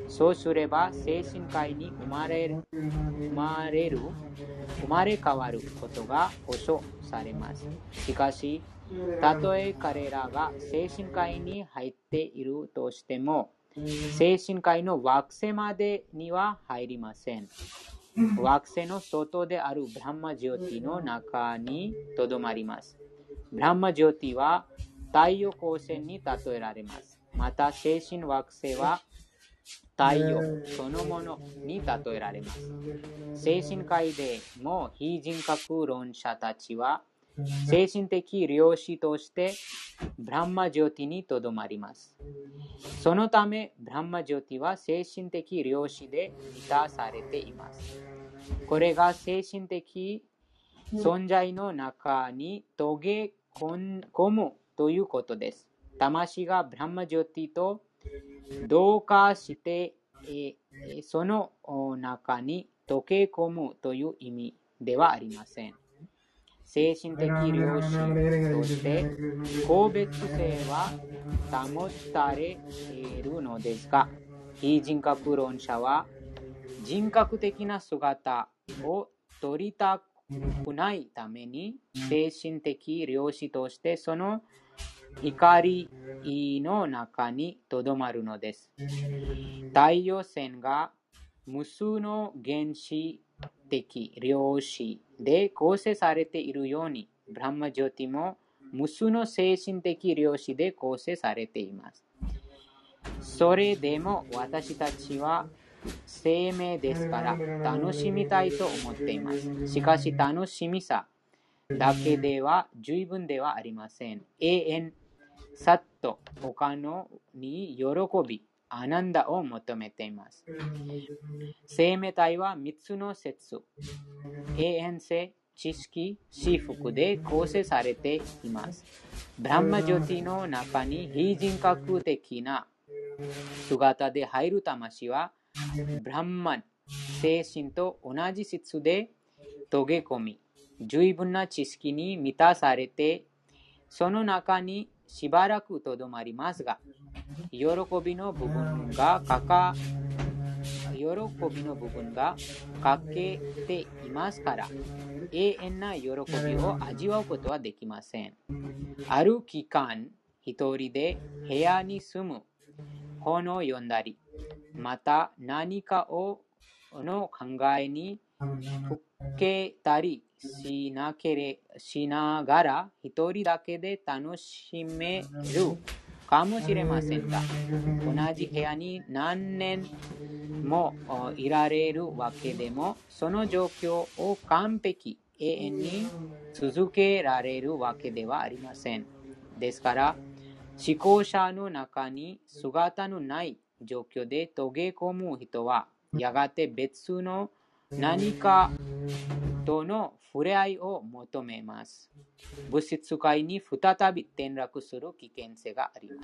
そうすれば精神界に生まれる、生まれる、生まれ変わることが保証されます。しかし、たとえ彼らが精神界に入っているとしても、精神界の惑星までには入りません。惑星の外であるブランマジョーティの中にとどまります。ブランマジョーティは太陽光線に例えられます。また精神惑星は太陽そのものに例えられます。精神界でも非人格論者たちは精神的量子としてブランマジョーティにとどまります。そのためブランマジョーティは精神的量子で満たされています。これが精神的存在の中に溶け込むということです。魂がブランマジョーティと同化してその中に溶け込むという意味ではありません。精神的量子として個別性は保たれているのですが、非人格論者は人格的な姿を取りたくないために精神的量子としてその光の中にとどまるのです。太陽線が無数の原子的量子で構成されているように、ブランマジョーティも無数の精神的量子で構成されています。それでも私たちは生命ですから楽しみたいと思っています。しかし楽しみさだけでは十分ではありません。永遠、さっと他のに喜び、アナンダを求めています。生命体はみっつの節、永遠性、知識、至福で構成されています。ブランマジョーティの中に非人格的な姿で入る魂はブランマン、精神と同じ質で溶け込み、十分な知識に満たされて、その中にしばらくとどまりますが、喜びの部分がかか、喜びの部分が欠けていますから、永遠な喜びを味わうことはできません。ある期間、一人で部屋に住む、本を読んだり、また何かをの考えにふけたりしなけれしながら一人だけで楽しめるかもしれませんが、同じ部屋に何年もいられるわけでも、その状況を完璧永遠に続けられるわけではありません。ですから思考者の中に姿のない状況で溶け込む人はやがて別の何かとの触れ合いを求めます。物質界に再び転落する危険性があります。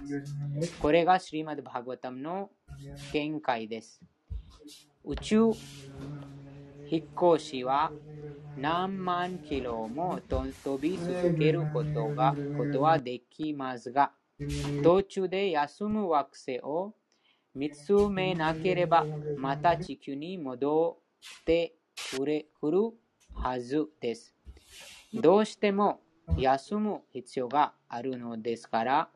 これがシリマッド・バーガバタムの見解です。宇宙引っ越しは何万キロも飛び続けることがことはできますが、途中で休む惑星を見つめなければまた地球に戻ってくるはずです。どうしても休む必要があるのですから、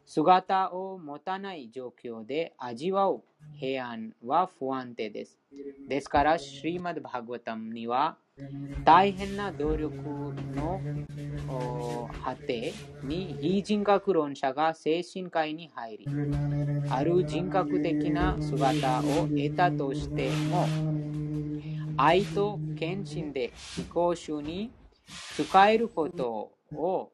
姿を持たない状況で味わう平安は不安定です。ですから、シリマッド・バーガヴァタムには大変な努力の果てに非人格論者が精神科医に入り、ある人格的な姿を得たとしても、愛と献身で思考主に使えることを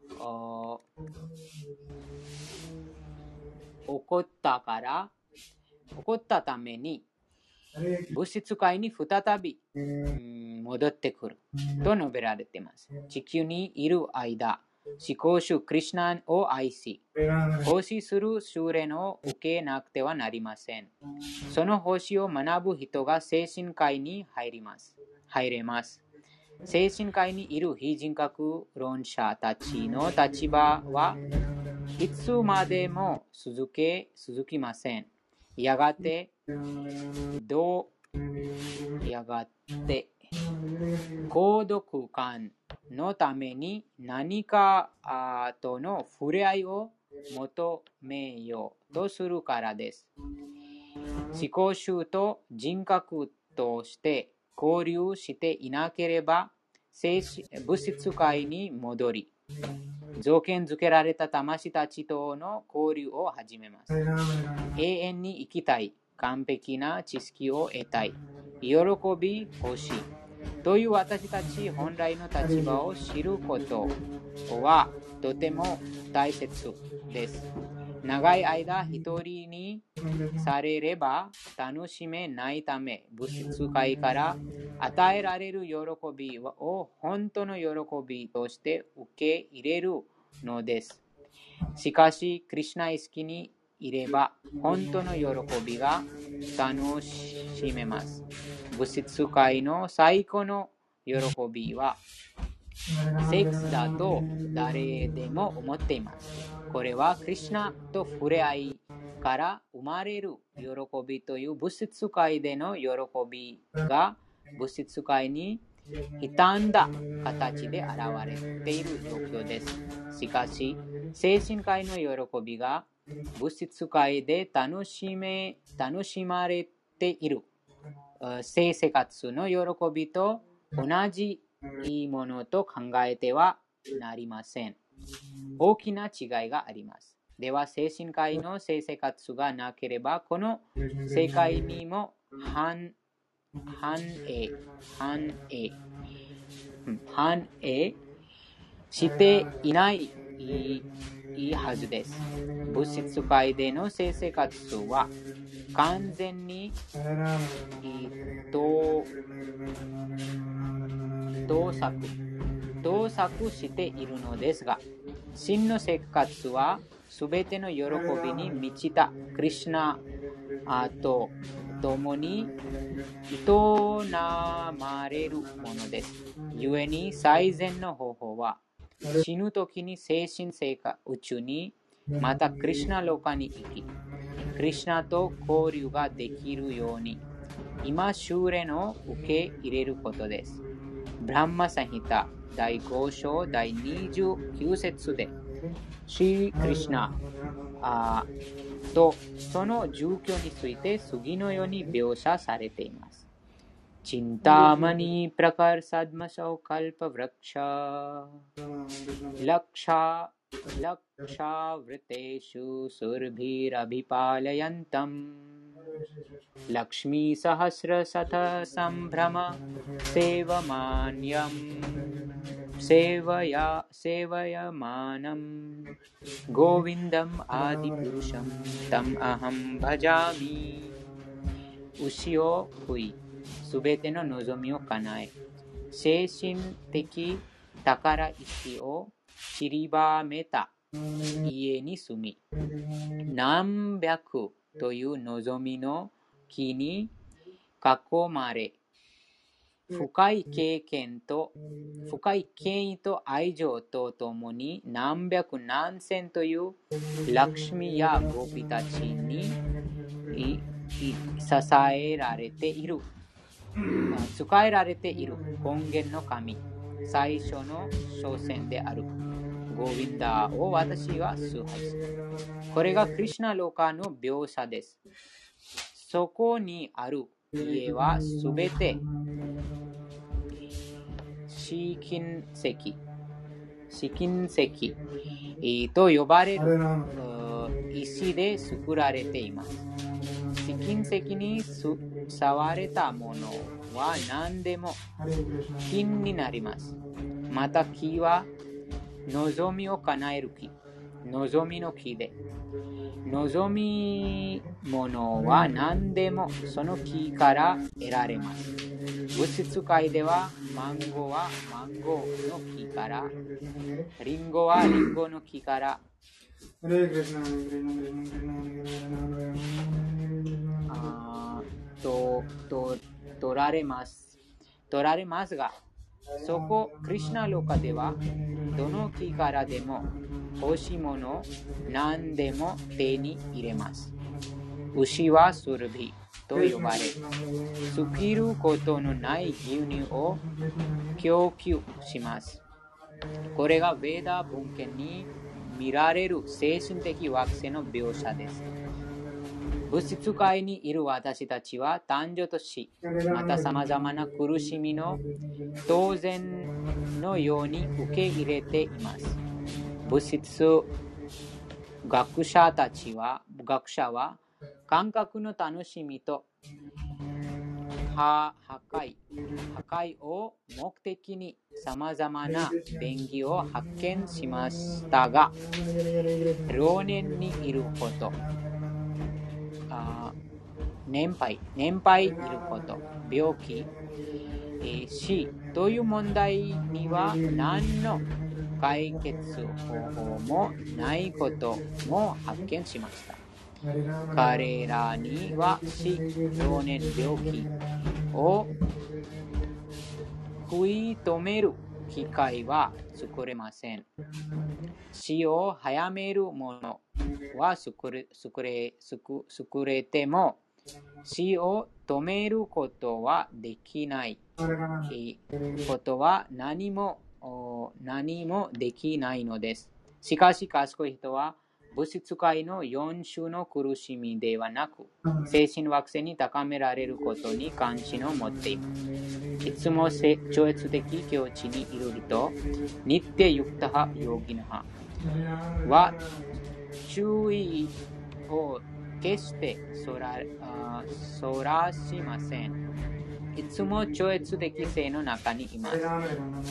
起こったから起こったために物質界に再び戻ってくると述べられています。地球にいる間、思考主クリシュナを愛し、奉仕する修練を受けなくてはなりません。その奉仕を学ぶ人が精神科医に入ります。入れます。精神科医にいる非人格論者たちの立場はいつまでも続け続きません。やがて、どうやがて、孤独感のために何かとの触れ合いを求めようとするからです。思考主と人格として交流していなければ、物質界に戻り、条件付けられた魂たちとの交流を始めます。永遠に生きたい、完璧な知識を得たい、喜び欲しいという私たち本来の立場を知ることはとても大切です。長い間一人にされれば楽しめないため、物質界から与えられる喜びを本当の喜びとして受け入れるのです。しかし、クリシュナ意識にいれば本当の喜びが楽しめます。物質界の最高の喜びはセックスだと誰でも思っています。これはクリシュナと触れ合いから生まれる喜びという物質界での喜びが物質界に傷んだ形で現れている状況です。しかし、精神界の喜びが物質界で楽しめ、楽しまれている性生活の喜びと同じものと考えてはなりません。大きな違いがあります。では、精神界の性生活がなければ、この世界にも反反映、反映、反映していないはずです。物質界での性生活は完全に盗作、盗作しているのですが、真の生活はすべての喜びに満ちたクリシュナと共に営まれるものです。故に最善の方法は死ぬ時に精神生活宇宙にまたクリシュナローカに行き、クリシュナと交流ができるように今修練を受け入れることです。ブランマサヒタだいご章だいにじゅうきゅう節でシー・クリシュナとその状況について次のように描写されています。チンタマニプラカルサドマシャオカルパヴラクシャラクシャラクシャヴリテシュスルビラビパラヤンタムラクシミサハスラサタサンブラマセヴァマニヤムセヴァヤセヴァヤマナムゴヴィンダムアディプルシャムタムアハンバジャミ牛を食いすべての望みを叶え、精神的宝石を散りばめた家に住み、何百という望みの木に囲まれ、深い経験と深い権威と愛情とともに何百何千というラクシミやゴピたちに支えられている。使えられている根源の神、最初の商船である。 ゴーヴィンダーを私は崇拝する。これがクリシュナローカの描写です。そこにある家はすべて試金石、試金石と呼ばれる石で作られています。試金石に触れたものは何でも金になります。また木は望みを叶える木、望みの木で、望み物は何でもその木から得られます。物質界ではマンゴーはマンゴーの木から、リンゴはリンゴの木から、あとと取られます。取られますが、そこクリシュナローカではどの木からでも欲しいものを何でも手に入れます。牛はスルビと呼ばれ、尽きることのない牛乳を供給します。これがヴェーダ文献に見られる精神的惑星の描写です。物質界にいる私たちは誕生と死、また様々な苦しみの当然のように受け入れています。物質学者たちは、学者は感覚の楽しみと破壊、破壊を目的に様々な便宜を発見しましたが、老年にいること、年配、年配いること、病気、えー、死という問題には何の解決方法もないことも発見しました。彼らには死、老年、病気を食い止める機会は作れません。死を早めるものは作れ、作れ、作、作れても死を止めることはできないことは何も何もできないのです。しかし賢い人は物質界のよん種の苦しみではなく、精神惑星に高められることに関心を持っています。いつも超越的境地にいる人、ニッテユクタハヨギナハは注意を決してそら、そらしません。いつも超越的性の中にいます。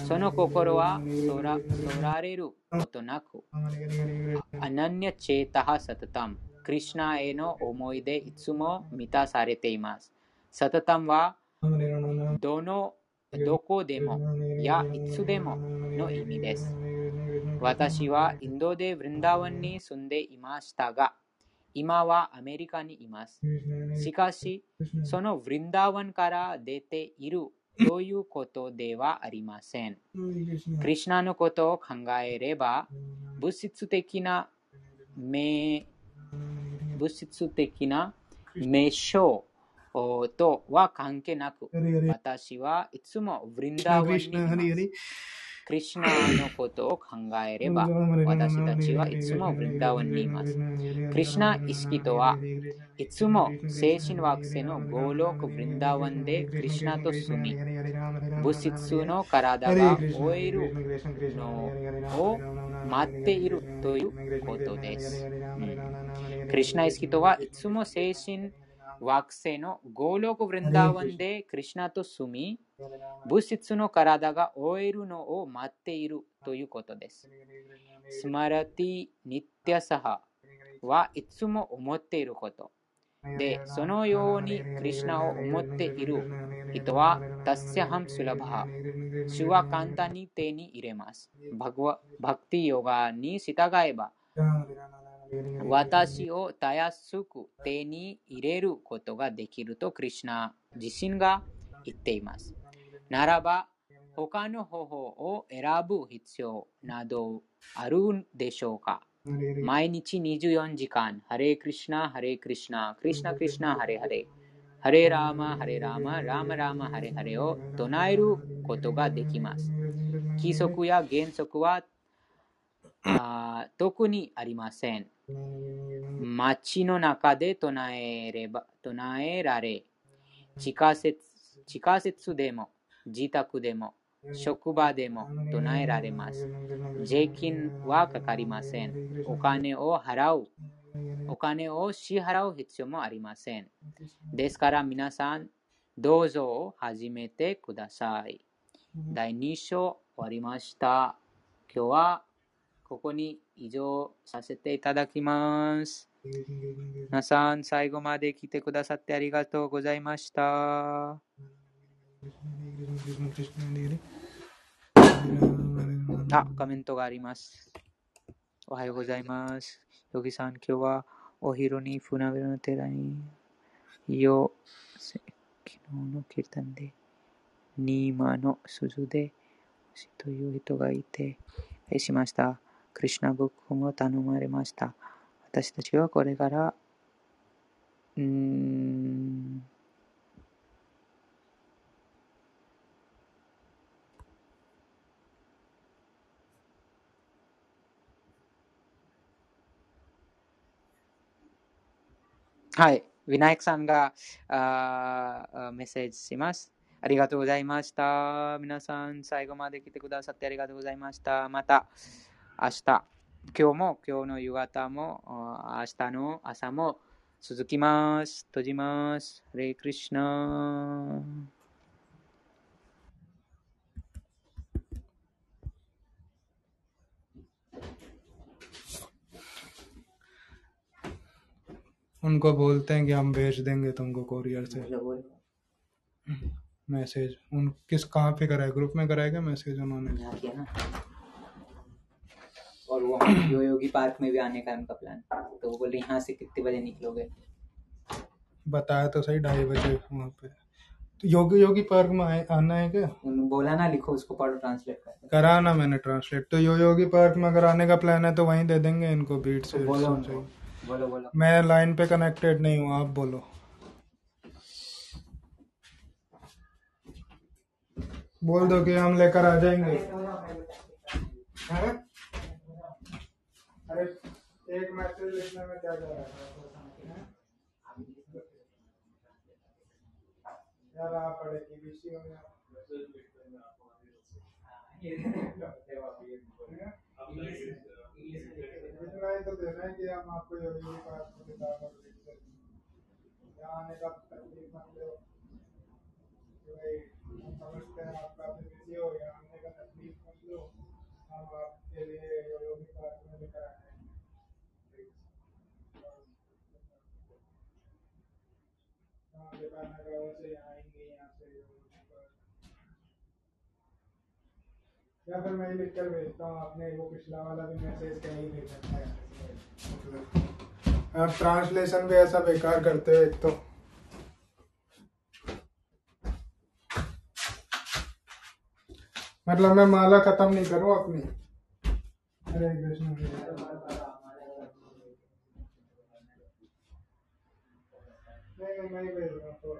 その心はそら、そられることなく、アナニャチェータハサタタム、クリシュナへの思いでいつも満たされています。サタタムはどの、どこでもやいつでもの意味です。私はインドでブリンダーワンに住んでいましたが、今はアメリカにいます。しかし、そのブリンダーワンから出ているということではありません。クリシュナのことを考えれば、物質的な名、物質的な名称とは関係なく、私はいつもブリンダーワンにいます。クリシュナのことを考えれば、私たちはいつもブリンダーワンにいます。クリシュナ意識とはいつも精神惑星のゴーロークブリンダーワンでクリシュナと住み、物質の体が終えるのを待っているということです。うん、クリシュナ意識とはいつも精神惑星のゴーロークブリンダーワンでクリシュナと住み、物質の体が終えるのを待っているということです。スマラティ・ニッティサハはいつも思っていること。で、そのようにクリシュナを思っている人は、タッセハムスラバハ、主は簡単に手に入れます。バクティヨガに従えば、私をたやすく手に入れることができるとクリシュナ自身が言っています。ならば、他の方法を選ぶ必要などあるでしょうか。毎日にじゅうよじかん、ハレクリシュナ、ハレクリシュナ、クリシュナクリシュナ、ハレハレ、ハレラーマ、ハレラーマ、ラーマラーマ、ハレハレを唱えることができます。規則や原則はあ特にありません。街の中で唱えれば唱えられ、地下鉄、地下鉄でも自宅でも職場でも唱えられます。税金はかかりません。お金を払う、お金を支払う必要もありません。ですから皆さん、どうぞ始めてください。だいに章終わりました。今日はここに以上させていただきます。皆さん、最後まで来てくださってありがとうございました。あ、コメントがあります。おはようございます。ヨギさん、今日はお昼に船べの寺によ、昨日のキルタンでニーマの鈴でという人がいて、しました。クリシュナブックも頼まれました。私たちはこれから、うーん、はい、ウィナイクさんがあメッセージします。ありがとうございました。皆さん、最後まで来てくださってありがとうございました。また、明日、今日も、今日の夕方も、明日の朝も続きます。閉じます。ハレークリシュナ。 उनको बोलते हैं कि हम भेज देंगे तुमको कोरियर से मैसेज। उन किस कहाँ पे कराया, ग्रुप में कराया क्या मैसेज उन्होंने? किया ना। और वो यो योगी पार्क में भी आने का उनका प्लान, तो वो बोल रहे यहाँ से कितने बजे निकलोगे? बताया तो सही, ढाई बजे वहाँ पे। तो योगी योगी पार्क में आए, आना है क्या? उन्होंने बोला ना, लिखो उसको, पढ़ो, ट्रांसलेट कर करा ना मैंने ट्रांसलेट। तो यो योगी पार्क में अगर आने का प्लान है तो वहीं दे देंगे इनको, भीड़ से। बोलो उनको, बोलो बोलो। मैं लाइन पे कनेक्टेड नहीं हूँ, आप बोलो। बोल दो कि हम लेकर आ जाएंगे। अरे एक मैसेज लिखने में क्या जा रहा है यार? आप पढ़े की बीसी हो गया। तो देना है कि हम आपको योगी पास को किताब और लिख दें। यहाँ आने का तकलीफ मत लो, हम समझते हैं आप काफी बिजी हो, यहाँ आने का तकलीफ मत लो, हम आपके लिए योगी पास में लेकर आए हैं। हाँ, दिखाना का वैसे यहाँ आएंगे, यहाँ से या फिर मैं लिख कर भेजता हूँ। आपने वो पिछला वाला भी मैसेज कहीं भेज सकता है। आप ट्रांसलेशन भी ऐसा बेकार करते हो। एक तो मतलब मैं माला खत्म नहीं करूँ अपनी। हरे कृष्ण। नहीं मैं ही भेज रहा हूँ तो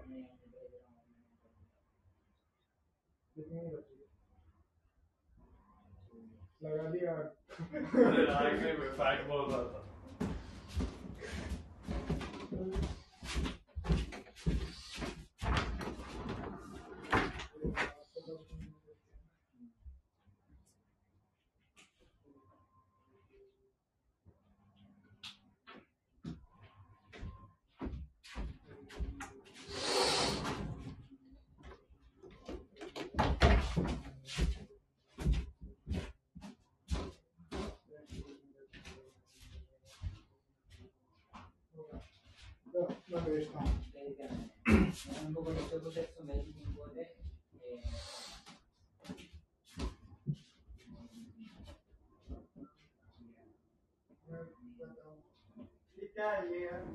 लगा दिया। मैं भेजता हूँ। उनको बोले तो तो तो मैं भी बोले क्या है ये यार?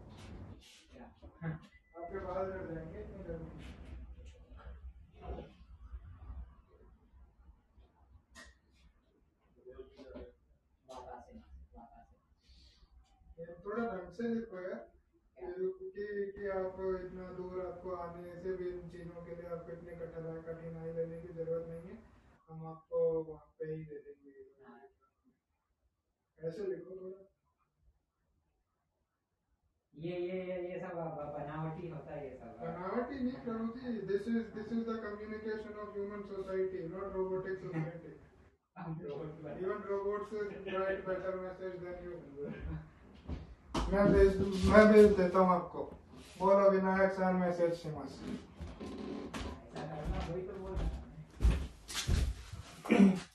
आपके बाल झड़ जाएंगे इतनी गर्मी। थोड़ा ढंग से लिखो यार, कि कि आप इतना दूर आपको आने से भी इन चीज़ों के लिए आपको इतनी कठिनाई कठिनाई लेने की जरूरत नहीं है। हम आपको वहाँ पे ही दे देंगे। ऐसे लिखो थोड़ा। ये ये ये ये सब बनावटी होता है, ये सब बनावटी नहीं प्रभु जी, this is this is the communication of human society, not robotic society. Even robots right better message then you. मैं भेज मैं भेज देता हूँ आपको। बोलो विनायक सर मैसेज शिमास। ऐसा करना वही तो बोल रहा है।